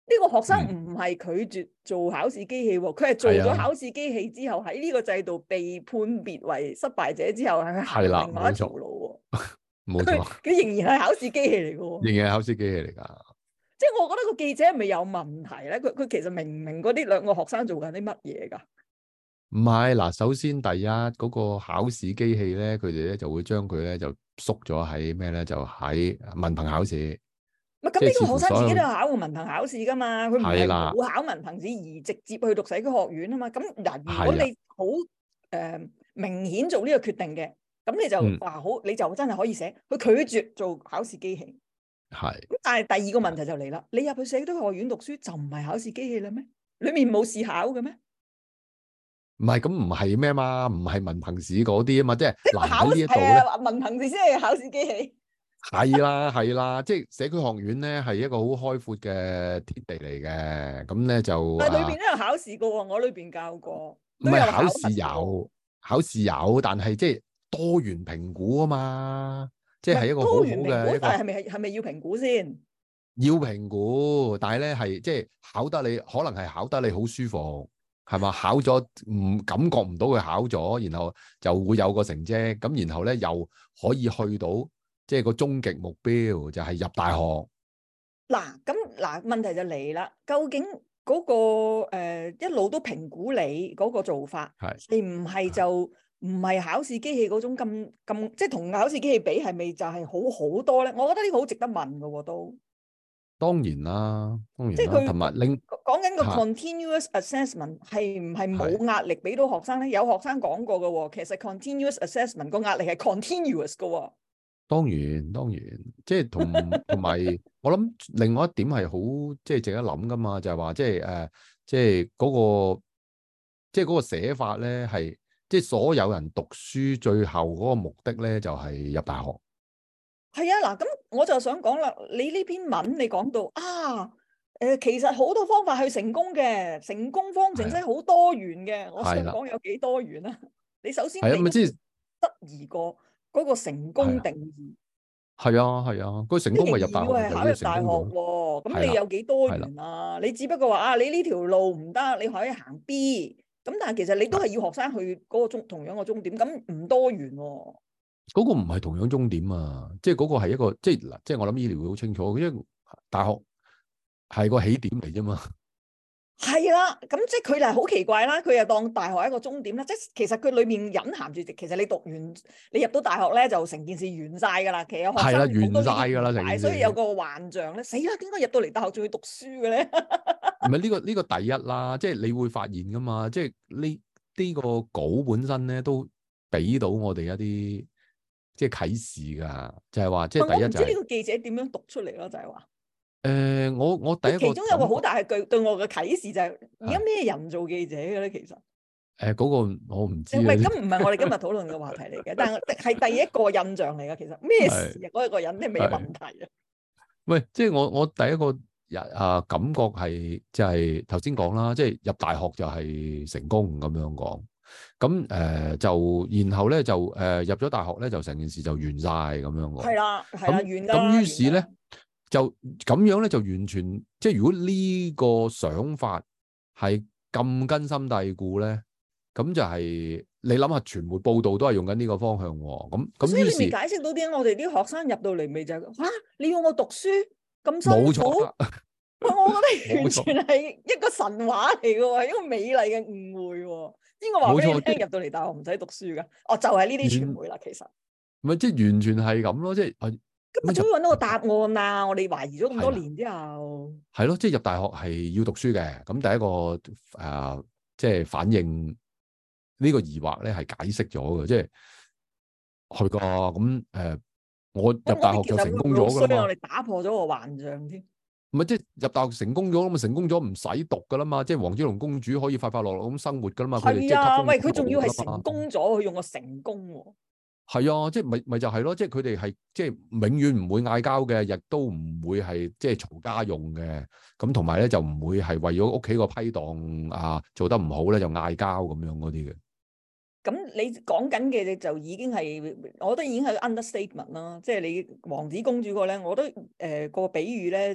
呢個學生唔係拒絕做考試機器喎，佢係做咗考試機器之後喺呢個制度被判別為失敗者之後，係行另外一條路喎。 冇錯， 佢仍然係考試機器嚟嘅喎， 仍然係考試機器嚟㗎。 即係我覺得個記者係咪有問題咧？佢其實明唔明嗰啲兩個學生做緊啲乜嘢㗎？ 唔係嗱，首先第一嗰個考試機器咧，佢哋咧就會將佢咧就縮咗喺咩咧？就喺文憑考試。 唔係咁，呢個學生自己都有考過文憑考試㗎嘛？佢唔係冇考文憑試而直接去讀社區學院啊嘛？咁嗱，如果你好明顯做呢個決定嘅，咁你就話好，你就真係可以寫佢拒絕做考試機器。 係。 咁但係第二個問題就嚟啦，你入去社區學院讀書就唔係考試機器啦咩？裡面冇試考嘅咩？ 唔係，咁唔係咩嘛？唔係文憑試嗰啲啊嘛，即係嗱喺呢一度咧，文憑試先係考試機器。 係啦係啦，即係社區學院咧係一個好開闊嘅天地嚟嘅，咁咧就但係裏邊都有考試過喎，我裏邊教過。 唔係考試有，考試有，但係即係多元評估啊嘛，即係一個好好嘅。 但係係咪要評估先？ 要評估，但係咧係即係考得你，可能係考得你好舒服。係嘛？考咗感覺唔到佢考咗，然後就會有個成績，咁然後咧又可以去到即係個終極目標，就係入大學。 嗱問題就嚟啦，究竟嗰個一路都評估你嗰個做法，你唔係就唔係考試機器嗰種咁即係同考試機器比，係咪就係好多咧？我覺得呢個好值得問㗎喎，都。 當然啦， 即係佢同埋講緊個 continuous assessment 係唔係冇壓力俾到學生咧？有學生講過嘅喎，其實 continuous assessment 個壓力係 continuous 嘅喎。當然，即係同埋我諗另外一點係好即係值得諗噶嘛，就係話即係即係嗰個寫法咧係即係所有人讀書最後嗰個目的咧就係入大學。 係啊，嗱，咁我就想講啦，你呢篇文你講到其實好多方法去成功嘅，成功方程式好多元嘅。我想講有幾多元啊？你首先你質疑過嗰個成功定義。係啊，個成功咪入大學，係考入大學喎。咁你有幾多元啊？你只不過話你呢條路唔得，你可以行 B。咁但係其實你都係要學生去嗰個同樣個終點，咁唔多元喎。嗰個唔係同樣終點啊，即係嗰個係一個即係我諗醫療會好清楚，因為大學係個起點嚟啫嘛。係啦，咁即係佢係好奇怪啦，佢又當大學係一個終點啦，即係其實佢裏面隱含住，其實你讀完你入到大學咧就成件事完晒噶啦，其實學生係啦完晒噶啦，所以有個幻象咧，死啦，點解入到嚟大學仲要讀書嘅咧？唔係呢個第一啦，即係你會發現噶嘛，即係呢個稿本身咧都俾到我哋一啲。即係啟示噶，就係話，即係第一就係。我唔知呢個記者點樣讀出嚟咯，就係話。我第一個其中有個好大嘅句對我嘅啟示就係，而家咩人做記者嘅咧？其實。嗰個我唔知。唔係，咁唔係我哋今日討論嘅話題嚟嘅，但係第一個印象嚟嘅。其實咩事啊？嗰一個人係咩問題啊？喂，即係我第一個感覺係即係頭先講啦，即係入大學就係成功咁樣講。咁就然後咧就入咗大學咧就成件事就完晒咁樣喎。係啦，完㗎。咁於是咧就咁樣咧就完全即係如果呢個想法係咁根深蒂固咧，咁就係你諗下傳媒報道都係用緊呢個方向喎。咁所以你未解釋到點解我哋啲學生入到嚟未就係你要我讀書咁辛苦？冇錯。我覺得完全係一個神話嚟嘅喎，一個美麗嘅誤會喎。邊個話俾你聽入到嚟大學唔使讀書噶？就係呢啲傳媒啦，其實。唔係，即係完全係咁咯，即係。咁咪終於揾到個答案啦！我哋懷疑咗咁多年之後。係咯，即係入大學係要讀書嘅。咁第一個即係反映呢個疑惑咧，係解釋咗嘅，即係去個咁我入大學就成功咗㗎啦嘛。我哋打破咗個幻象添。唔係，即係入大學成功咗，咁咪成功咗唔使讀噶啦嘛，即係黃之龍公主可以快快樂樂咁生活噶啦嘛。係啊，喂，佢仲要係成功咗，佢用個成功喎。係啊，即係咪就係咯，即係佢哋係即係永遠唔會嗌交嘅，亦都唔會係即係嘈家用嘅。咁同埋咧就唔會係為咗屋企個批檔做得唔好咧就嗌交咁樣嗰啲嘅。咁你講緊嘅就已經係，我覺得已經係 understatement 啦。即係你王子公主個咧，我覺得個比喻咧。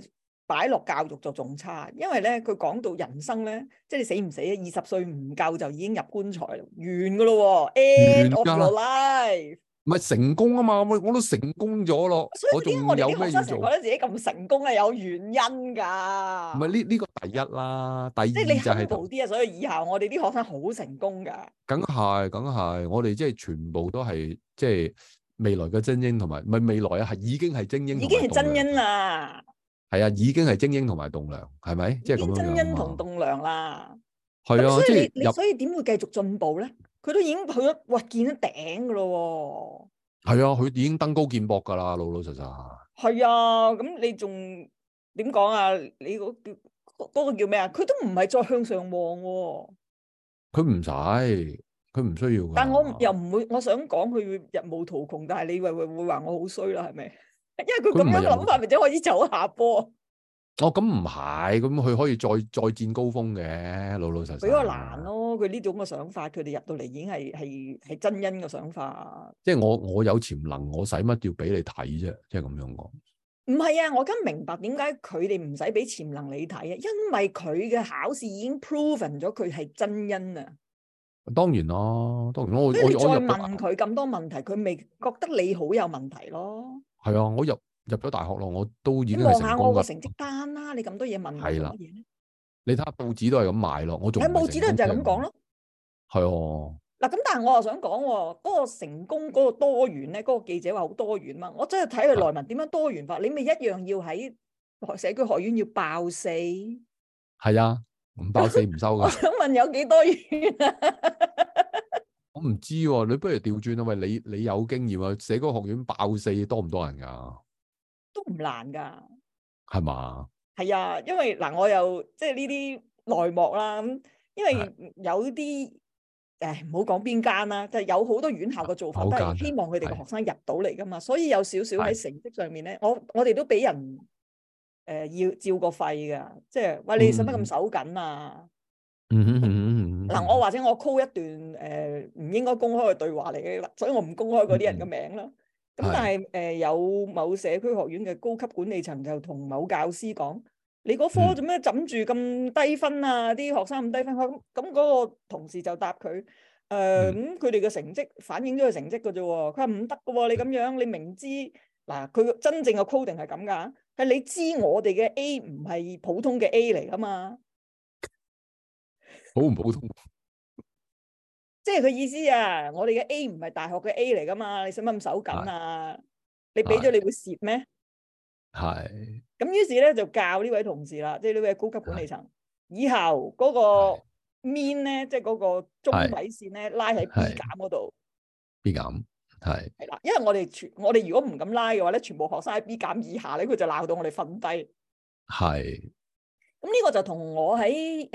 擺落教育就仲差，因為咧佢講到人生咧，即係你死唔死啊？20歲唔夠就已經入棺材啦，完噶咯，end 完 of 㗎， your life。 唔係成功啊嘛，我都成功咗咯，我所以點解我仲有哋啲學咩要做？ 生成日覺得自己咁成功係有原因㗎？ 唔係呢個第一啦，第二即係你就係 humble 啲啊！所以以後我哋啲學生好成功㗎。 梗係，我哋即係全部都係即係未來嘅精英，同埋唔係未來啊，係已經係精英同已經係真埋棟梁。 因啦， 係啊，已經係精英同埋棟梁，係咪？即係咁已經真樣樣啊因同嘛。 棟梁啦。 係啊， 咁所即係入以你所以點會繼續進步咧？佢都已經去咗，哇，見咗頂㗎咯係啊，佢已經登高見博㗎啦，老老實實。 喎。係啊，咁你仲點講啊？你嗰個叫咩啊？佢都唔係再向上望喎。 佢唔使，佢唔需要㗎。 但我又唔會，我想講佢日無途窮，但係你會話我好衰啦，係咪？因為佢咁樣諗法，咪即係可以走下坡。 哦，咁唔係，咁佢可以再戰高峰嘅，老老實實。 比較難咯，佢呢種嘅想法，佢哋入到嚟已經係真因嘅想法。 即係我有潛能，我使乜要俾你睇啫？即係咁樣講。 唔係啊，我而家明白點解佢哋唔使俾潛能你睇啊，因為佢嘅考試已經 proven 咗佢係真因啊。 當然啦，當然我所以你再我問佢咁多問題，佢未覺得你好有問題咯。 係啊，我入咗大學咯，我都已經你係望下我個成功㗎。 成績單啦，你咁多嘢問我係啦， 做乜嘢咧？ 你睇下報紙都係咁賣咯，我仲唔喺報紙都係就係咁講咯。 係啊， 嗱，咁但係我又想講喎，嗰個成功嗰個多元咧，嗰個記者話好多元嘛，我真係睇佢內文點樣多元化，你咪一樣要喺社區學院要爆四。 係啊，唔爆四唔收我㗎。 想問有幾多元啊？ 我唔知喎，你不如調轉啊！喂，你有經驗啊，社區學院爆四多唔多人㗎？ 都唔難㗎。 係嘛？ 係啊，因為嗱，我又即係呢啲內幕啦，咁因為有啲唔好講邊間啦，就係有好多院校嘅做法都係希望佢哋嘅學生入到嚟㗎嘛，所以有少少喺成績上面咧，我哋都俾人要照個肺㗎，即係喂，你使乜咁手緊啊？嗱，我或者我 call 一段唔應該公開嘅對話嚟嘅啦，所以我唔公開嗰啲人嘅名啦。咁但係有某社區學院嘅高級管理層就同某教師講：你嗰科做咩枕住咁低分啊？啲學生咁低分，咁嗰個同事就答佢：咁佢哋嘅成績反映咗佢成績嘅啫喎。佢話唔得嘅喎，你咁樣你明知嗱，佢真正嘅 coding 係咁㗎，係你知我哋嘅 A 唔係普通嘅 A 嚟㗎嘛。 好唔普通？ 即係佢意思啊！我哋嘅 A 唔係大學嘅 A 嚟噶嘛？你使乜咁手緊啊？你俾咗你會蝕咩？ 係。 咁於是咧就教呢位同事啦，即係呢位高級管理層，以後嗰個 mean 咧，即係嗰個中位線咧，拉喺 B 減嗰度。 B 減係啦，因為我哋如果唔咁拉嘅話咧，全部學生喺 B 減以下咧，佢就鬧到我哋瞓低。係。咁呢個就同我喺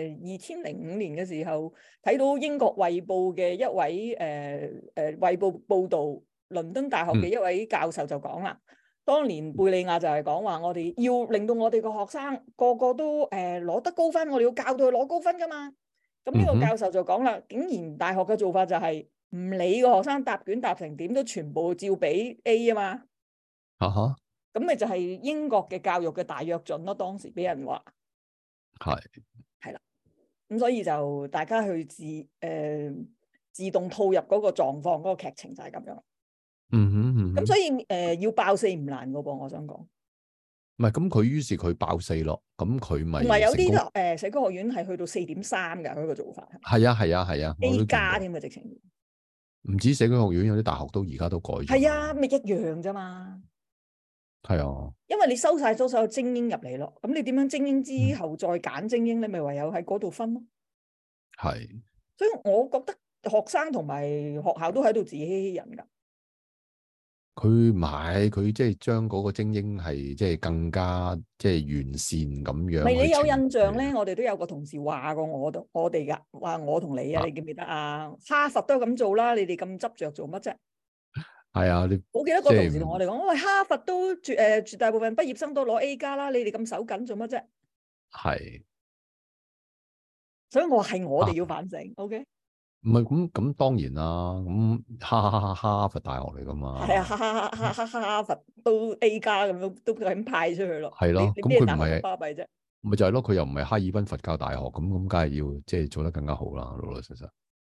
2005年嘅時候睇到英國衛報嘅一位衛報報導，倫敦大學嘅一位教授就講啦，當年貝利亞就係講話，我哋要令到我哋個學生個個都攞得高分，我哋要教到佢攞高分噶嘛。咁呢個教授就講啦，竟然大學嘅做法就係唔理個學生答卷答成點，都全部照俾 A 啊嘛。咁咪就係英國嘅教育嘅大躍進咯，當時俾人話。係啦，咁所以就大家去自動套入嗰個狀況，嗰個劇情就係咁樣。咁所以要爆四唔難噶噃，我想講。 唔係，咁佢於是佢爆四咯，咁佢咪同埋有啲社區學院係去到4.3噶，嗰個做法。 係啊 A 加添啊，直情。 唔止社區學院，有啲大學都而家都改咗。 係啊，咪一樣啫嘛。係啊， 因為你收晒所有精英入嚟咯，咁你點樣精英之後再揀精英咧？咪唯有喺嗰度分咯。係，所以我覺得學生同埋學校都喺度自欺欺人噶。 佢唔係，佢即係將嗰個精英係即係更加即係完善咁樣。咪你有印象咧？我哋都有個同事話過我哋噶，話我同你啊，你記唔記得啊？哈佛都咁做啦，你哋咁執着做乜啫？係啊，我記得個同事同我哋講，喂，哈佛都絕大部分畢業生都攞 A 加啦，你哋咁手緊做乜啫？係，所以我話係我哋要反省。OK， 唔係咁當然啦，咁哈佛大學嚟噶係啊， 嘛， 哈佛都 A 加咁樣，都咁派出去咯。 係咯， 你咁咩大學咁佢唔係巴閉啫？ 咪就係咯，佢又唔係哈爾濱佛教大學，咁梗係要即係做得更加好啦，老老實實。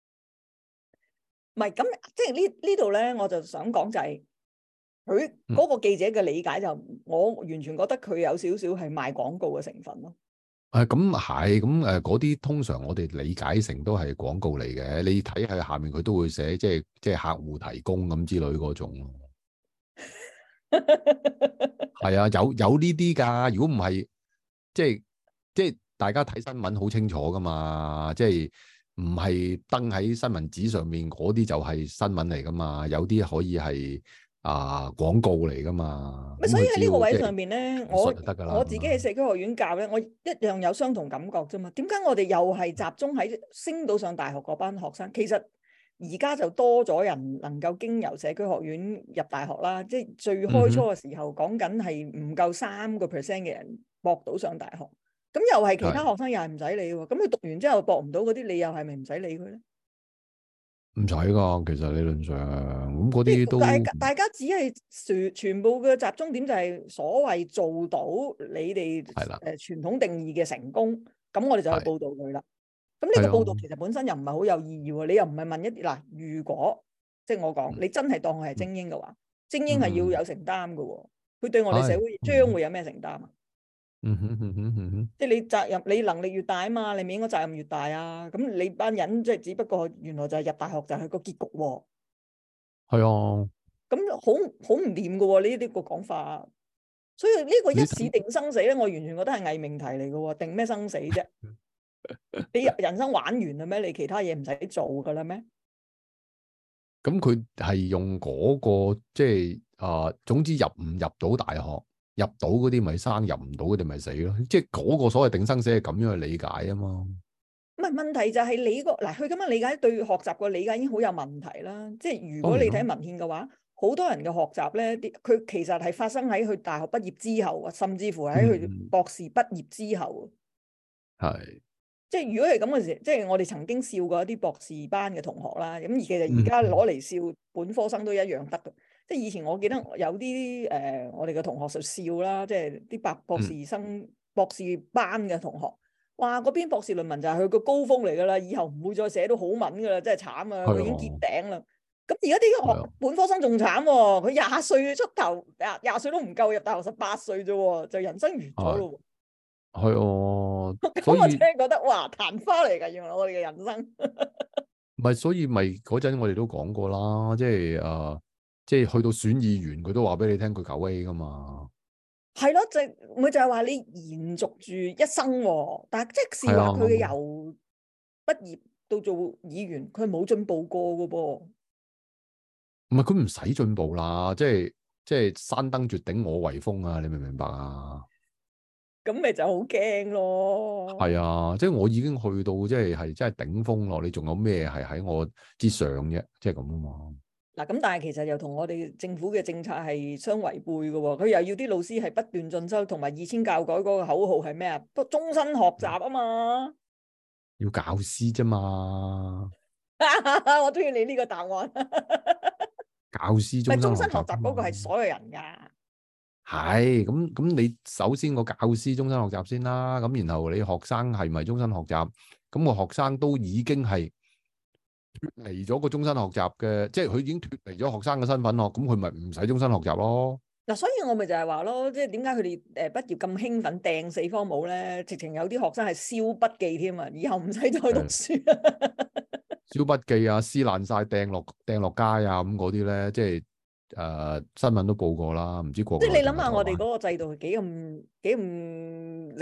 唔係咁，即係呢度咧，我就想講就係佢嗯， 嗰個記者嘅理解就，我完全覺得佢有少少係賣廣告嘅成分咯。 咁係，咁嗰啲通常我哋理解成都係廣告嚟嘅，你睇下下面佢都會寫即係客戶提供咁之類嗰種咯。係啊，有呢啲㗎。如果唔係，即係即係大家睇新聞好清楚㗎嘛，即係唔係登喺新聞紙上面嗰啲就係新聞嚟㗎嘛，有啲可以係廣告嚟㗎嘛。咁所以佢只喺呢個位要即係上邊咧， 描述就得㗎啦。 我自己喺社區學院教咧，我一樣有相同感覺啫嘛。點解我哋又係集中喺升到上大學嗰班學生？其實而家就多咗人能夠經由社區學院入大學啦。即係最開初嗯哼， 嘅時候，講緊係唔夠3%嘅人博到上大學。咁又係其他係學生又係唔使理喎。咁佢讀完之後博唔到嗰啲，你又係咪唔使理佢咧？ 唔使㗎，其實理論上咁嗰即啲都係大家只係全部嘅集中點就係所謂做到你哋係啦， 傳統定義嘅成功，咁我哋就去係報導佢啦。咁呢係個報導其啊， 實本身又唔係好有意義喎，你又唔係問一啲嗱，如果即係我講， 嗯你真係當佢係嗯精英嘅話，精英係要嗯， 有承擔嘅喎，佢對我哋社係， 會將會有咩承擔啊？ 嗯哼嗯哼嗯哼， 即係你責任，你能力越大啊嘛，你咪應該責任越大啊。咁你班人即係只不過原來就係入大學就係個結局喎。 係啊， 咁好唔掂嘅喎，呢個講法。所以呢個一你睇。 試定生死咧，我完全覺得係偽命題嚟嘅喎。定咩生死啫？你人生玩完啦咩？你其他嘢唔使做㗎啦咩？ 咁佢係用嗰個即係總之入唔入到大學，入到嗰啲咪生，入唔到嗰啲咪死咯。即係嗰個所謂定生死係咁樣去理解啊嘛。 唔係問題就係你個嗱，佢咁樣理解對學習個理解已經好有問題啦。即係如當然啦， 果你睇文獻嘅話，好多人嘅學習咧，佢其實係發生喺佢大學畢業之後啊，甚至乎喺佢嗯， 博士畢業之後。 係， 即係如果係咁嘅時，即係我哋曾經笑過一啲博士班嘅同學啦。咁其實而嗯家攞嚟笑本科生都一樣得嘅。即係以前我記得有啲我哋嘅同學就笑啦，即係啲博嗯， 士生、博士班嘅同學，哇！嗰篇博士論文就係佢個高峰嚟㗎啦，以後唔會再寫到好文㗎啦，真係慘啊！佢已經見係啊， 頂啦。咁而家啲係啊， 本科生仲慘喎，佢廿歲出頭，廿歲都唔夠入大學18歲啫喎，就人生完咗係咯。 係啊， 咁我真所以係覺得哇，曇花嚟㗎，原來我哋嘅人生。 所以嗰陣我哋都講過啦，即係去到選議員，佢都話俾你聽佢9A 噶嘛。 係咯，就係話你延續住一生喎。但係即係啊， 使話佢由畢業到做議員，佢冇進步過嘅噃。 唔係佢唔使進步啦，即係山登絕頂我為峰啊！你明唔明白啊？ 咁咪就好驚咯。 係啊，即係我已經去到即係真係頂峰咯，你仲有咩係喺我之上啫？即係咁啊嘛。 嗱，咁但係其實又同我哋政府嘅政策係相違背嘅喎。佢又要啲老師係不斷進修，同埋2000教改嗰個口號係咩啊？終身學習啊嘛。 要教師啫嘛， 我中意你呢個答案。 教師終身學唔係終身學習啫嘛。 習嗰個係所有人㗎。 係咁，你首先個教師終身學習先啦，咁然後你學生係咪終身學習？咁個學生都已經係脫離咗個終身學習嘅，即係佢已經脫離咗學生嘅身份咯，咁佢咪唔使終身學習咯。 嗱，所以我咪就係話咯，即係點解佢哋畢業咁興奮掟4科帽咧？直情有啲學生係燒筆記添啊，以後唔使再讀書。 燒筆記啊，撕爛晒掟落街啊，咁嗰啲咧，即係新聞都報過啦，唔知國即係內你諗下，我哋定係台灣。 嗰個制度係幾咁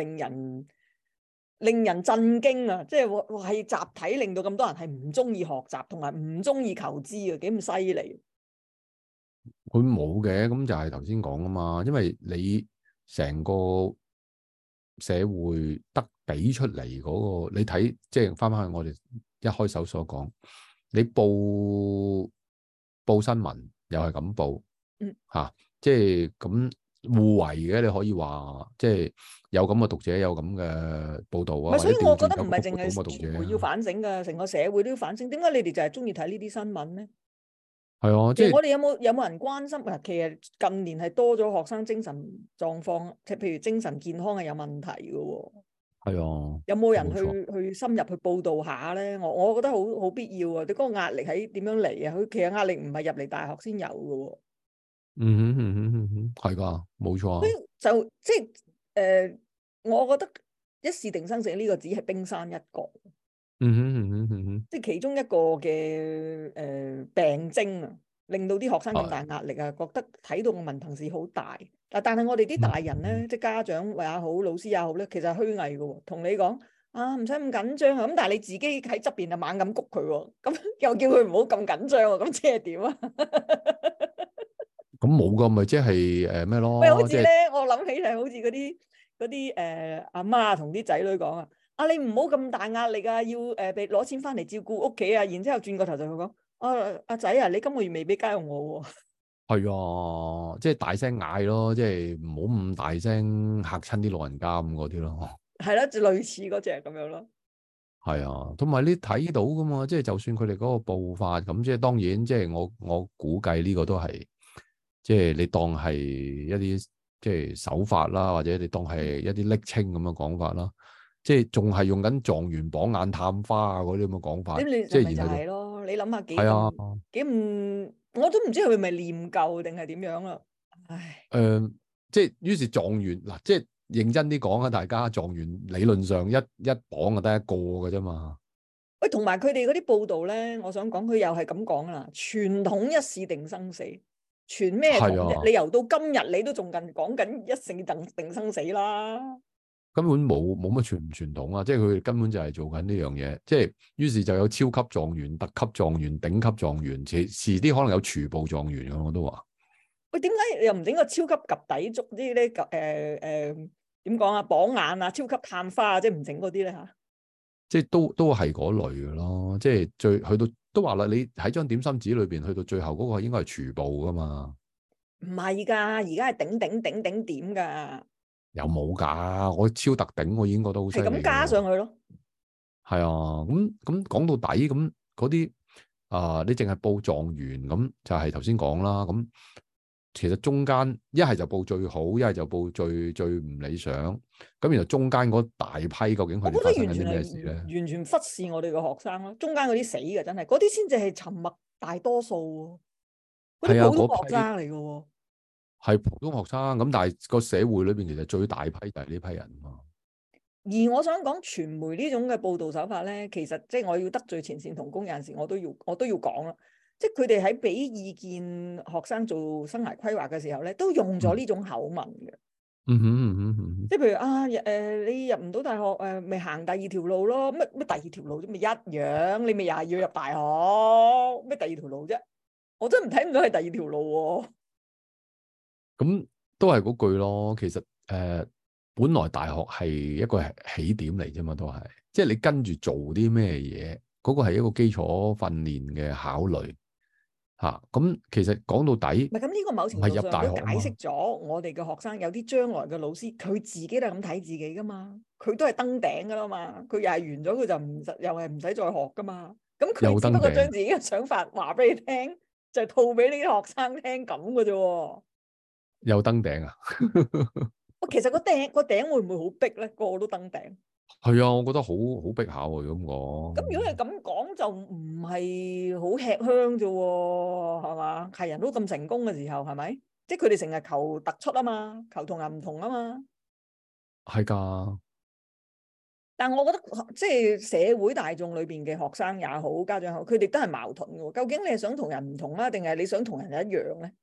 令人震驚啊！即係話係集體令到咁多人係唔中意學習，同埋唔中意求知啊，幾咁犀利！ 佢冇嘅，咁就係頭先講啊嘛，因為你成個社會得俾出嚟嗰個，你睇即係翻返去我哋一開手所講，你報新聞又係咁報嗯， 嚇，即係咁互為嘅，你可以話即係有咁嘅讀者，有咁嘅報導啊， 唔係，所以或者調我覺得唔轉有咁嘅報係淨係導嘅讀者傳媒要啊， 反省㗎，成個社會都要反省。點解你哋就係中意睇呢啲新聞咧？ 係啊，即係其實我哋有冇人關心？嗱，其實近年係多咗學生精神狀況，即係譬如精神健康係有問題嘅喎。 係啊， 有冇人冇錯， 去深入去報導下咧？我覺得好必要啊！你嗰個壓力喺點樣嚟啊？佢其實壓力唔係入嚟大學先有嘅喎。 係㗎，冇錯啊， 就即係我覺得一試定生死呢個只係冰山一角，即係其中一個嘅病徵啊，令到啲學生咁大壓力啊，覺得睇到個文憑試好大。但係我哋啲大人咧，即係家長也好，老師也好咧，其實係虛偽嘅喎。同你講啊，唔使咁緊張啊，咁但係你自己喺側邊就猛咁谷佢喎，咁又叫佢唔好咁緊張喎，咁即係點啊？ 咁冇㗎，咪即係咩喂，好咯？即係似咧，我諗起係好似嗰啲阿媽同啲仔女講啊，你唔好咁大壓力啊，要俾攞錢翻嚟照顧屋企啊，然之後轉個頭就會講，阿仔啊，你今個月未俾家用我喎。 係啊，即係大聲嗌咯，即係唔好咁大聲嚇親啲老人家咁嗰啲咯。 係啦，就類似嗰隻咁樣咯。 係啊，同埋你睇到噶嘛，即係就算佢哋嗰個步伐咁，即係當然，即係我估計呢個都係，即係你當係一啲即係手法啦，或者你當係一啲暱稱咁嘅講法啦，即係仲係用緊狀元榜眼探花啊嗰啲咁嘅講法， 咁你即咪就係然後就係咯，你諗下幾係啊， 咁幾唔，我都唔知佢係咪念舊定係點樣啦。唉， 即係於是狀元嗱，即係認真啲講啊，大家狀元理論上一榜就得一個嘅啫嘛。 喂，同埋佢哋嗰啲報道咧，我想講佢又係咁講啦，傳統一試定生死，傳咩統啫？ 係啊， 你由到今日你都仲講緊一試定生死啦。 根本冇乜傳唔傳統啊！即係佢哋根本就係做緊呢樣嘢，即係於是就有超級狀元、特級狀元、頂級狀元，遲啲可能有廚部狀元嘅，我都話。 喂，點解又唔整個超級及第足啲咧？點講啊？榜眼啊，超級探花啊，即係唔整嗰啲咧嚇？ 即係都係嗰類嘅咯，即係去到都話啦，你喺張點心紙裏邊去到最後嗰個應該係廚部噶嘛？ 唔係㗎，而家係頂點㗎， 有冇㗎？我超特頂，我已經覺得好犀利。 係咁加上去咯。 係啊，咁講到底咁嗰啲你淨係報狀元咁，就係頭先講啦。咁其實中間一係就報最好，一係就報最唔理想。咁然後中間嗰大批究竟佢哋發生緊啲咩事咧？ 完全忽視我哋嘅學生咯，中間嗰啲死嘅真係，嗰啲先至係沉默大多數喎，嗰啲普通學生嚟嘅喎。 係普通學生咁，但係個社會裏邊其實最大批就係呢批人嘛。 而我想講傳媒呢種嘅報導手法咧，其實即係我要得罪前線同工有陣時，我都要講啦。即係佢哋喺俾意見學生做生涯規劃嘅時候咧，都用咗呢種口吻嘅。即係譬如啊，你入唔到大學咪行第二條路咯。乜第二條路啫？咪一樣，你咪又係要入大學。咩第二條路啫？我真係睇唔到係第二條路喎。 咁都係嗰句咯。其實本來大學係一個起點嚟啫嘛，都係即係你跟住做啲咩嘢，嗰個係一個基礎訓練嘅考慮嚇。咁其實講到底， 唔係咁，呢個某程度上都解釋咗我哋嘅學生有啲將來嘅老師，佢自己都係咁睇自己噶嘛，佢都係登頂噶啦嘛，佢又係完咗佢就唔使，又係唔使再學噶嘛。咁佢只不過將自己嘅想法話俾你聽，就係套俾你啲學生聽咁嘅啫。 又登頂啊！ 其實個頂會唔會好逼咧？個個都登頂。 係啊，我覺得好逼下喎。咁講， 咁如果係咁講，就唔係好吃香啫，係嘛？係人都咁成功嘅時候，係咪？即係佢哋成日求突出啊嘛，求同人唔同啊嘛。 係㗎。 但我覺得即係社會大眾裏邊嘅學生也好，家長也好，佢哋都係矛盾嘅。究竟你係想同人唔同啊，定係你想同人一樣咧？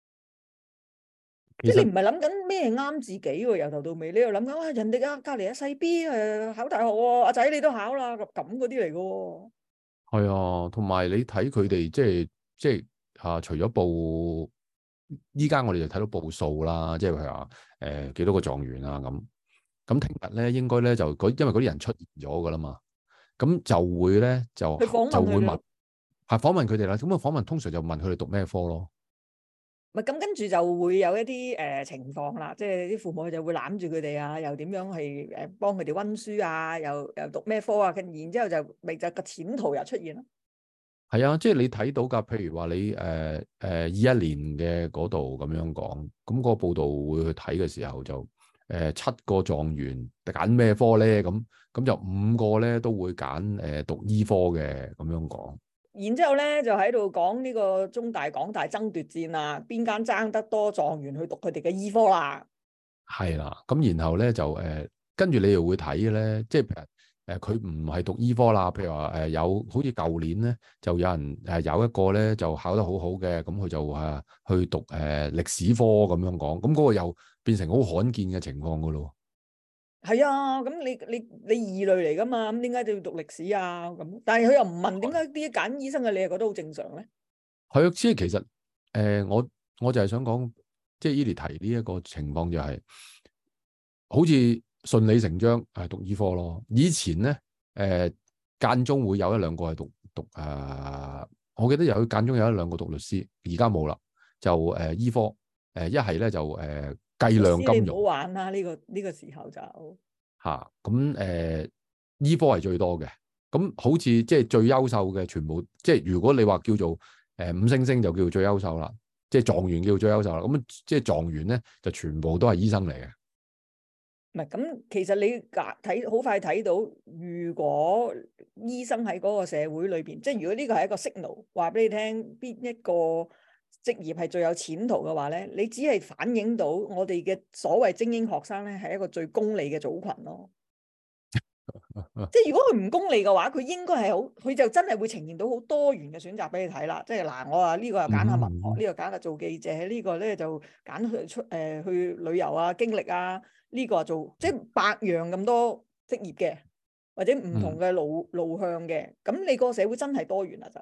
即係你唔係諗緊咩啱自己喎，由頭到尾你又諗緊哇，人哋隔離阿細 B 考大學喎，阿仔你都考啦，咁嗰啲嚟嘅喎。 係啊，同埋你睇佢哋即係除咗報，依家我哋就睇到報數啦，即係譬如話幾多個狀元啊咁。咁聽日咧應該咧就因為嗰啲人出現咗噶啦嘛，咁就會咧就會問係訪問佢哋啦。咁啊訪問通常就問佢哋讀咩科咯。 咪咁跟住就會有一啲情況啦，即係啲父母就會攬住佢哋啊，又點樣去幫佢哋温書啊，又讀咩科啊，然之後就咪就個前途又出現咯。 係啊，即係你睇到㗎，譬如話你21年嘅嗰度咁樣講，咁個報道會去睇嘅時候就7個狀元揀咩科咧？咁就5個咧都會揀讀醫科嘅咁樣講。 然之後咧就喺度講呢個中大港大爭奪戰啊，邊間爭得多狀元去讀佢哋嘅醫科啦。 係啦，咁然後咧就跟住你又會睇嘅咧，即係譬如佢唔係讀醫科啦，譬如話有好似舊年咧就有人有一個咧就考得好好嘅，咁佢就去讀歷史科咁樣講，咁嗰個又變成好罕見嘅情況噶咯。 係啊，咁你異類嚟噶嘛？咁點解都要讀歷史啊？咁但係佢又唔問點解啲揀醫生嘅你又覺得好正常咧？ 係啊，即係其實我就係想講，即係 Edith 提呢一個情況就係好似順理成章係讀醫科咯。以前咧間中會有一兩個係讀我記得有間中有一兩個讀律師，而家冇啦，就醫科一係咧就計量金融。 你唔好玩啦，呢個時候就嚇咁醫科係最多嘅。咁好似即係最優秀嘅全部，即係如果你話叫做5星星就叫做最優秀啦，即係狀元叫做最優秀啦。咁即係狀元咧就全部都係醫生嚟嘅。 唔係咁，其實你睇好快睇到，如果醫生喺嗰個社會裏邊，即係如果呢個係一個 signal，話俾你聽邊一個職業係最有前途嘅話咧，你只係反映到我哋嘅所謂精英學生咧係一個最功利嘅組群咯。即係如果佢唔功利嘅話，佢應該係好，佢就真係會呈現到好多元嘅選擇俾你睇啦。即係嗱，我話呢個又揀下文學，呢個揀下做記者，呢個咧就揀去旅遊啊、經歷啊，呢個做即係百樣咁多職業嘅，或者唔同嘅路向嘅。咁你個社會真係多元啦就。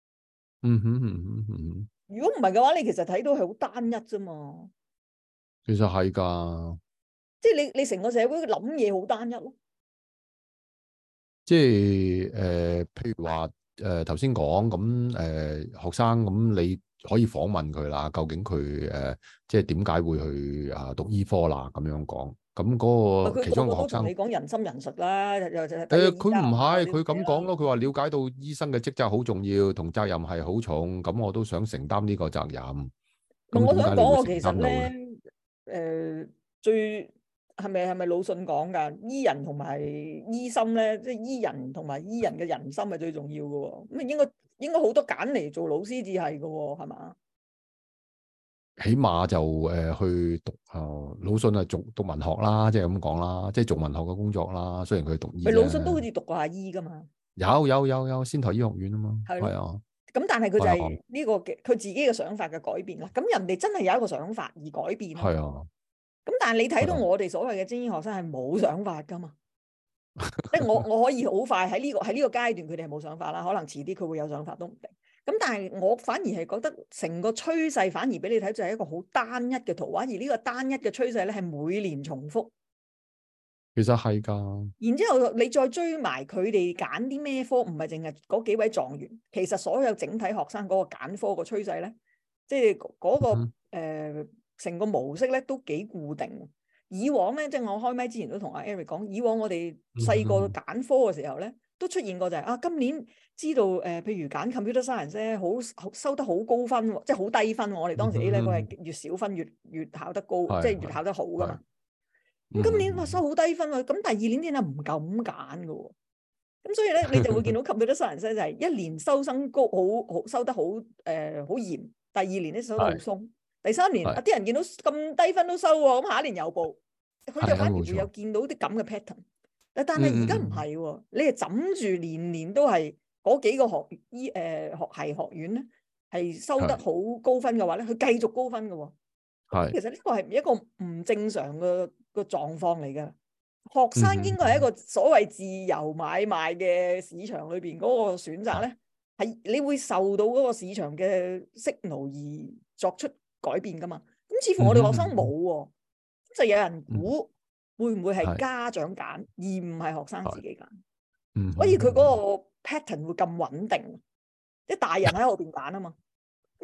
如果唔係嘅話，你其實睇到係好單一啫嘛。 其實係㗎， 即係你成個社會諗嘢好單一咯。 即係譬如話頭先講咁學生咁，你可以訪問佢啦，究竟佢即係點解會去讀醫科啦？咁樣講，咁嗰個其中一個學生， 你講人心人術啦，又佢唔係佢咁講咯，佢話了解到醫生嘅職責好重要，同責任係好重，咁我都想承擔呢個責任。咁我想講，我其實咧最係咪魯迅講㗎？醫人同埋醫心咧，即係醫人同埋醫人嘅人心係最重要嘅喎。咁應該好多揀嚟做老師至係嘅喎，係嘛？ 起碼就去讀魯迅係讀文學啦，即係咁講啦，即係做文學嘅工作啦。雖然佢讀醫， 魯迅都好似讀過下醫㗎嘛。 有仙台醫學院啊嘛，係啊。 咁但係佢就係呢個嘅佢自己嘅想法嘅改變啦。咁人哋真係有一個想法而改變。 係啊。 咁但係你睇到我哋所謂嘅精英學生係冇想法㗎嘛？即係我可以好快喺呢個階段，佢哋係冇想法啦。可能遲啲佢會有想法都唔定。咁但係我反而係覺得成個趨勢反而俾你睇就係一個好單一嘅圖畫，而呢個單一嘅趨勢咧係每年重複。 其實係㗎。 然之後你再追埋佢哋揀啲咩科，唔係淨係嗰幾位狀元，其實所有整體學生嗰個揀科個趨勢咧，即係嗰個成個模式咧都幾固定。以往咧，即係我開麥之前都同阿 Eric 講，以往我哋細個揀科嘅時候咧，都出現過就係今年知道譬如揀 computer science 咧，好收得好高分，即係好低分。我哋當時 A level係越少分越考得高，即係越考得好噶嘛。咁今年收好低分喎，咁第二年啲人唔敢揀嘅喎。咁所以咧，你就會見到 computer science 就係一年收生高，好收得好好嚴，第二年咧收得好鬆。第三年啲人見到咁低分都收喎，咁下一年又報，佢就反而會有見到啲咁嘅 pattern。但係而家唔係喎，你係枕住年年都係嗰幾個學系學院咧，係收得好高分嘅話咧，佢繼續高分嘅喎。其實呢個係一個唔正常嘅狀況嚟嘅。學生應該係一個所謂自由買賣嘅市場裏邊嗰個選擇咧，係你會受到嗰個市場嘅 signal 而作出改變噶嘛？咁似乎我哋學生冇喎，就有人估會唔會係家長揀，而唔係學生自己揀。所以佢嗰個 pattern 會咁穩定，即係大人喺後邊揀啊嘛。咁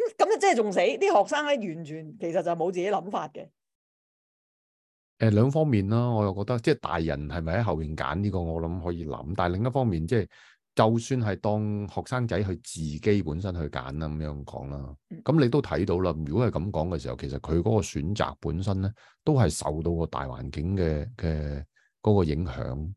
咁就真係仲死，啲學生咧完全其實就冇自己諗法嘅。 兩方面啦，我又覺得即係大人係咪喺後邊揀呢個，我諗可以諗。但係另一方面，即係就算係當學生仔去自己本身去揀啦，咁樣講啦。咁你都睇到啦，如果係咁講嘅時候，其實佢嗰個選擇本身咧，都係受到個大環境嘅嗰個影響。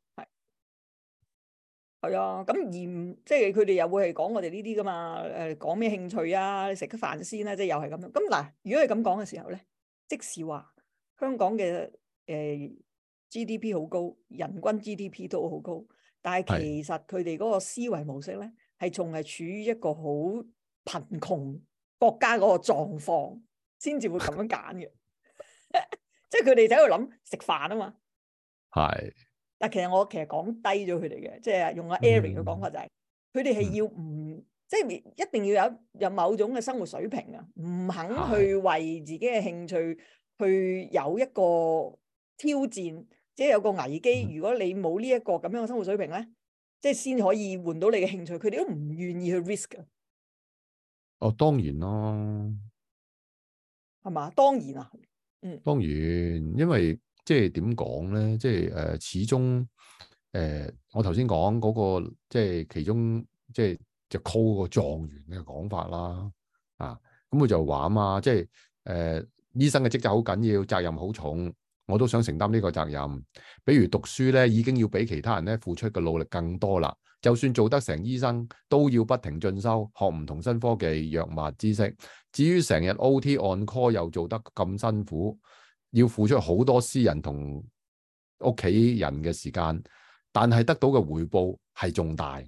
係啊，咁而即係佢哋又會係講我哋呢啲噶嘛？講咩興趣啊？你食咗飯先啦，即係又係咁樣。咁嗱，如果係咁講嘅時候咧，即使話香港嘅GDP 好高，人均 GDP 都好高，但係其實佢哋嗰個思維模式咧，係仲係處於一個好貧窮國家嗰個狀況，先至會咁樣揀嘅。即係佢哋就喺度諗食飯啊嘛。 係。 但其實我講低咗佢哋嘅，即係用阿 Eric 嘅講法就係，佢哋係要唔即係一定要有某種嘅生活水平啊，唔肯去為自己嘅興趣去有一個挑戰，即係有個危機。如果你冇呢一個咁樣嘅生活水平咧，即係先可以換到你嘅興趣，佢哋都唔願意去 risk 嘅。 哦，當然咯， 係嘛？當然啊， 當然，因為即係點講咧，即係始終我頭先講嗰個即係其中即係就 call 個狀元嘅講法啦，咁佢就話啊嘛，即係醫生嘅職責好緊要，責任好重，我都想承擔呢個責任。比如讀書咧，已經要比其他人咧付出嘅努力更多啦。就算做得成醫生，都要不停進修，學唔同新科技、藥物知識。至於成日 OT on call 又做得咁辛苦，要付出好多私人同屋企人嘅時間，但係得到嘅回報係仲大。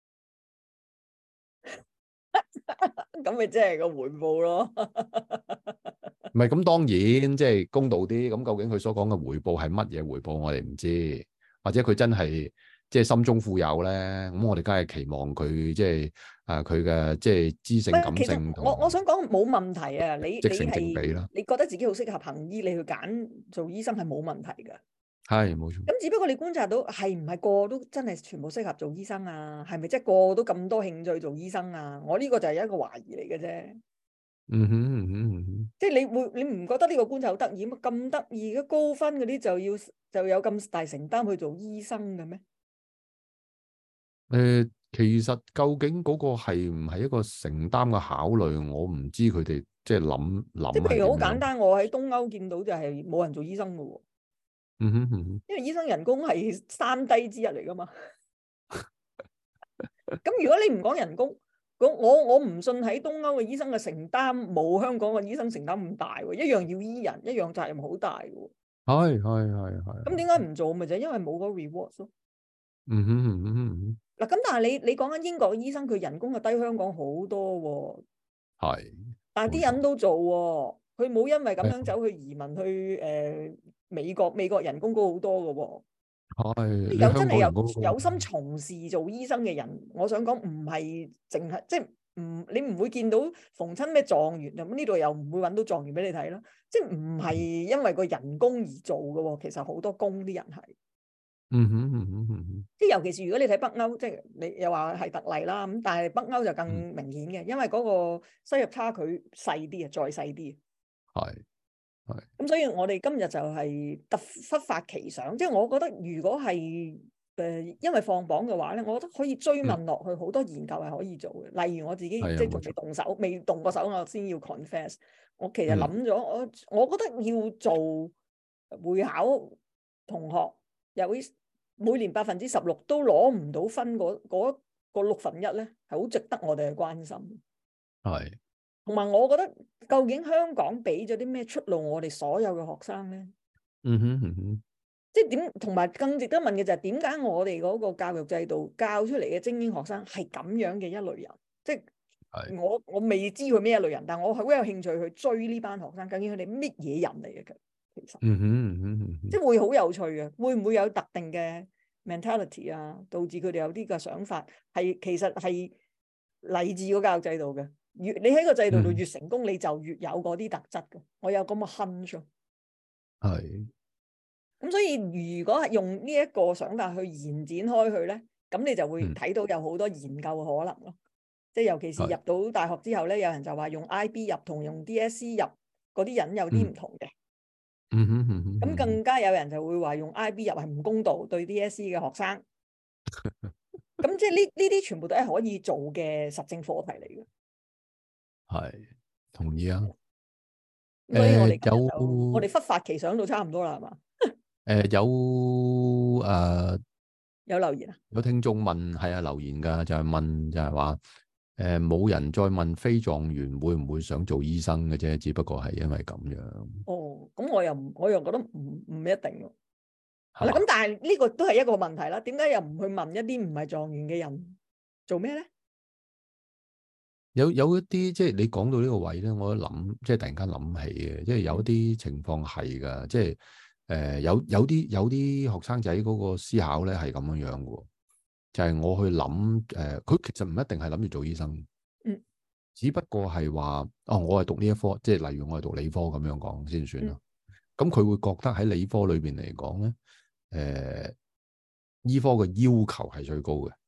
咁咪即係個回報咯。 唔係咁，當然即係公道啲。咁究竟佢所講嘅回報係乜嘢回報，我哋唔知，或者佢真係即係心中富有咧。咁我哋梗係期望佢即係佢嘅即係知性感性同。 我想講冇問題啊！你正比啦， 你覺得自己好適合行醫，你去揀做醫生係冇問題㗎。 係冇錯。 咁只不過你觀察到係唔係個個都真係全部適合做醫生啊？係咪即係個個都咁多興趣做醫生啊？我呢個就係一個懷疑嚟嘅啫。即係你唔覺得呢個觀察好得意咩？咁得意嘅高分嗰啲就有咁大承擔去做醫生嘅咩？ 其實究竟嗰個係唔係一個承擔嘅考慮，我唔知佢哋即係諗即係譬如好簡係點樣。 單，我喺東歐見到就係冇人做醫生嘅喎。因為醫生人工係三低之一嚟噶嘛。咁如果你唔講人工，我唔信喺東歐嘅醫生嘅承擔冇香港嘅醫生承擔咁大喎，一樣要醫人，一樣責任好大嘅喎。 係。 咁點解唔做咪就係因為冇嗰個 reward 咯。嗱，咁但係你講緊英國嘅醫生，佢人工就低香港好多喎。係。但係啲人都做喎，佢冇因為咁樣走去移民去美國，美國人工高好多嘅喎。有真係有心從事做醫生嘅人，我想講唔係淨係即係你唔會見到逢親咩狀元咁，呢度又唔會揾到狀元俾你睇啦。即係唔係因為個人工而做嘅喎，其實好多工啲人係。即係尤其是如果你睇北歐，即係你又話係特例啦，咁但係北歐就更明顯嘅，因為嗰個收入差距細啲啊，再細啲。係。咁所以我哋今日就係忽發奇想，即係我覺得如果係因為放榜嘅話咧，我覺得可以追問落去，好多研究係可以做嘅。例如我自己即係仲未動手，未動過手，我先要 confess。我其實諗咗，我覺得要做會考同學，有每年16%都攞唔到分嗰個1/6咧，係好值得我哋去關心。係。同埋，我覺得究竟香港俾咗啲咩出路我哋所有嘅學生咧？即係點？同埋更值得問嘅就係點解我哋嗰個教育制度教出嚟嘅精英學生係咁樣嘅一類人？即係我未知佢咩一類人，但我好有興趣去追呢班學生，究竟佢哋乜嘢人嚟嘅？其實，即係會好有趣嘅，會唔會有特定嘅 mentality 啊，導致佢哋有啲嘅想法係其實係嚟自個教育制度嘅？你喺個制度度越成功，你就越有嗰啲特質嘅。我有咁嘅 hunch。係。咁所以如果係用呢一個想法去延展開去咧，咁你就會睇到有好多研究嘅可能咯。 即係尤其是入到大學之後咧，有人就話用 IB 入同用 DSE 入嗰啲人有啲唔同嘅。咁更加有人就會話用 IB 入係唔公道對 DSE 嘅學生。咁即係呢啲全部都係可以做嘅實證課題嚟嘅。 係同意啊。 所以我哋我哋忽發奇想到差唔多啦，係嘛？有留言啊？ 有聽眾問，係啊，留言㗎，就係問就係話冇人再問非狀元會唔會想做醫生嘅啫，只不過係因為咁樣。 哦，咁我又覺得唔一定喎。係啦，咁但係呢個都係一個問題啦。點解又唔去問一啲唔係狀元嘅人做咩咧？ 有一啲即係你講到呢個位咧，我一諗即係突然間諗起嘅，即係有一啲情況係㗎，即係有啲學生仔嗰個思考咧係咁樣樣嘅，就係我去諗佢其實唔一定係諗住做醫生，只不過係話我係讀呢一科，即係例如我係讀理科咁樣講先算啦。咁佢會覺得喺理科裏邊嚟講咧，醫科嘅要求係最高嘅。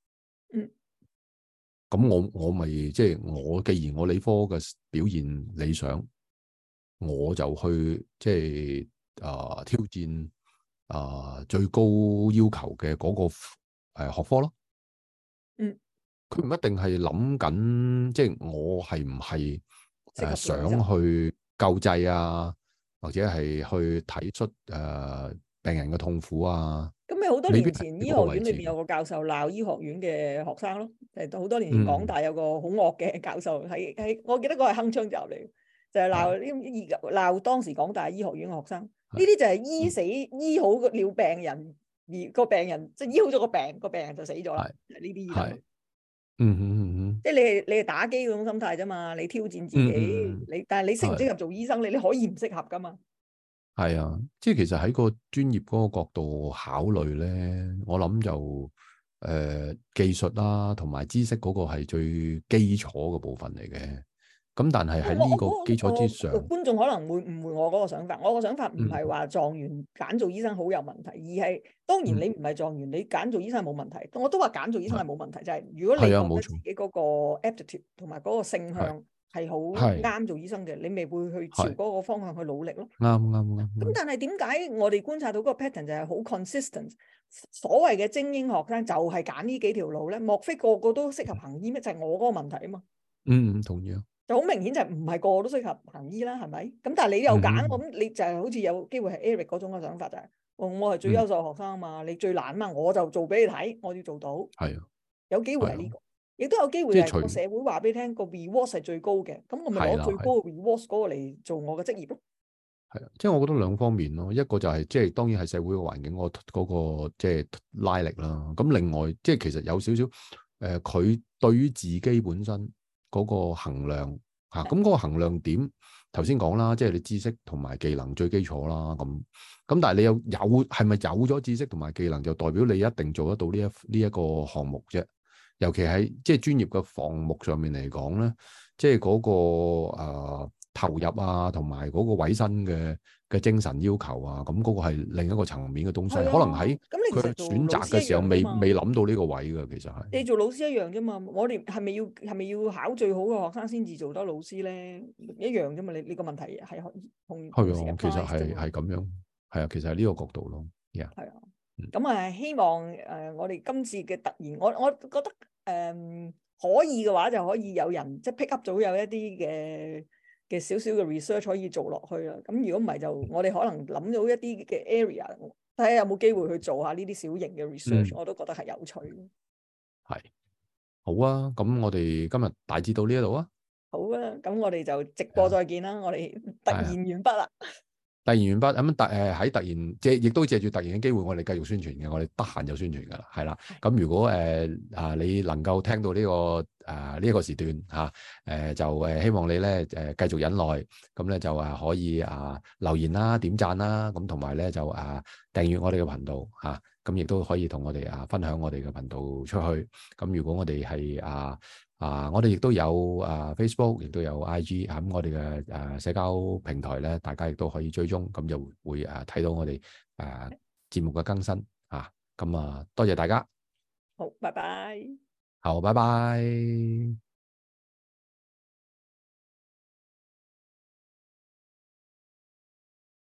咁我咪即係我既然我理科嘅表現理想，我就去即係挑戰最高要求嘅嗰個學科咯。佢唔一定係諗緊，即係我係唔係想去救濟啊，或者係去睇出病人嘅痛苦啊。 咁咪好多年前醫學院裏邊有個教授鬧醫學院嘅學生咯，好多年前港大有個好惡嘅教授喺我記得嗰係鏗鏘集嚟，就係鬧當時港大醫學院嘅學生。呢啲就係醫好了病人，而個病人即係醫好咗個病人就死咗啦。呢啲醫生，即係你係打機嗰種心態啫嘛，你挑戰自己，但係你適唔適合做醫生，你可以唔適合噶嘛。 係啊，即係其實喺個專業嗰個角度考慮咧，我諗就技術啦，同埋知識嗰個係最基礎嘅部分嚟嘅。咁但係喺呢個基礎之上， 觀眾可能會誤會我嗰個想法。我個想法唔係話狀元揀做醫生好有問題，而係當然你唔係狀元，你揀做醫生係冇問題。我都話揀做醫生係冇問題，就係如果你覺得自己嗰個 aptitude 同埋嗰個性向係好啱做醫生嘅，你咪會去朝嗰個方向去努力咯。 啱。 咁但係點解我哋觀察到嗰個 pattern 就係好 consistent？所謂嘅精英學生就係揀呢幾條路咧，莫非個個都適合行醫咩？就係我嗰個問題啊嘛。 同意啊。 就好明顯就係唔係個個都適合行醫啦，係咪？咁但係你又揀，咁你就係好似有機會係 Eric 嗰種嘅想法就係，我係最優秀學生啊嘛，你最難啊嘛，我就做俾你睇，我要做到。係啊，有機會係呢個，亦都有機會係個社會話俾你聽個 reward 係最高嘅，咁我咪攞最高嘅 reward 嗰個嚟做我嘅職業咯。 係啊，即係我覺得兩方面咯，一個就係即係當然係社會嘅環境嗰個即係拉力啦。咁另外即係其實有少少佢對於自己本身嗰個衡量嚇，咁嗰個衡量點頭先講啦，即係你知識同埋技能最基礎啦。咁但係你有係咪有咗知識同埋技能就代表你一定做得到呢一個項目啫？尤其喺即係專業嘅項目上面嚟講咧，即係嗰個投入啊，同埋嗰個委身嘅精神要求啊，咁嗰個係另一個層面嘅東西，可能喺佢選擇嘅時候未諗到呢個位㗎，其實係。你做老師一樣啫嘛，我哋係咪要考最好嘅學生先至做得老師咧？一樣啫嘛，你個問題係同係啊，其實係咁樣，係啊，其實係呢個角度咯。係啊， 咁啊，希望我哋今次嘅突然，我覺得可以嘅話就可以有人即係 pick up 咗有一啲嘅少少嘅 research 可以做落去啦。咁如果唔係就我哋可能諗到一啲嘅 area，睇下有冇機會去做下呢啲小型嘅 research，我都覺得係有趣。係好啊，咁我哋今日大致到呢一度啊。 好啊，咁我哋就直播再見啦。我哋突然完畢啦。 突然完畢咁喺突然借，亦都借住突然嘅機會，我哋繼續宣傳嘅。我哋得閒就宣傳噶啦，係啦。咁如果你能夠聽到呢個呢一個時段就希望你咧繼續忍耐，咁咧就可以留言啦、點讚啦，咁同埋咧就訂閱我哋嘅頻道嚇，咁亦都可以同我哋分享我哋嘅頻道出去。咁如果我哋係我哋亦都有Facebook，亦都有 IG，咁我哋嘅社交平台咧，大家亦都可以追蹤，咁就會睇到我哋節目嘅更新咁多謝大家。 好，拜拜。 好，拜拜。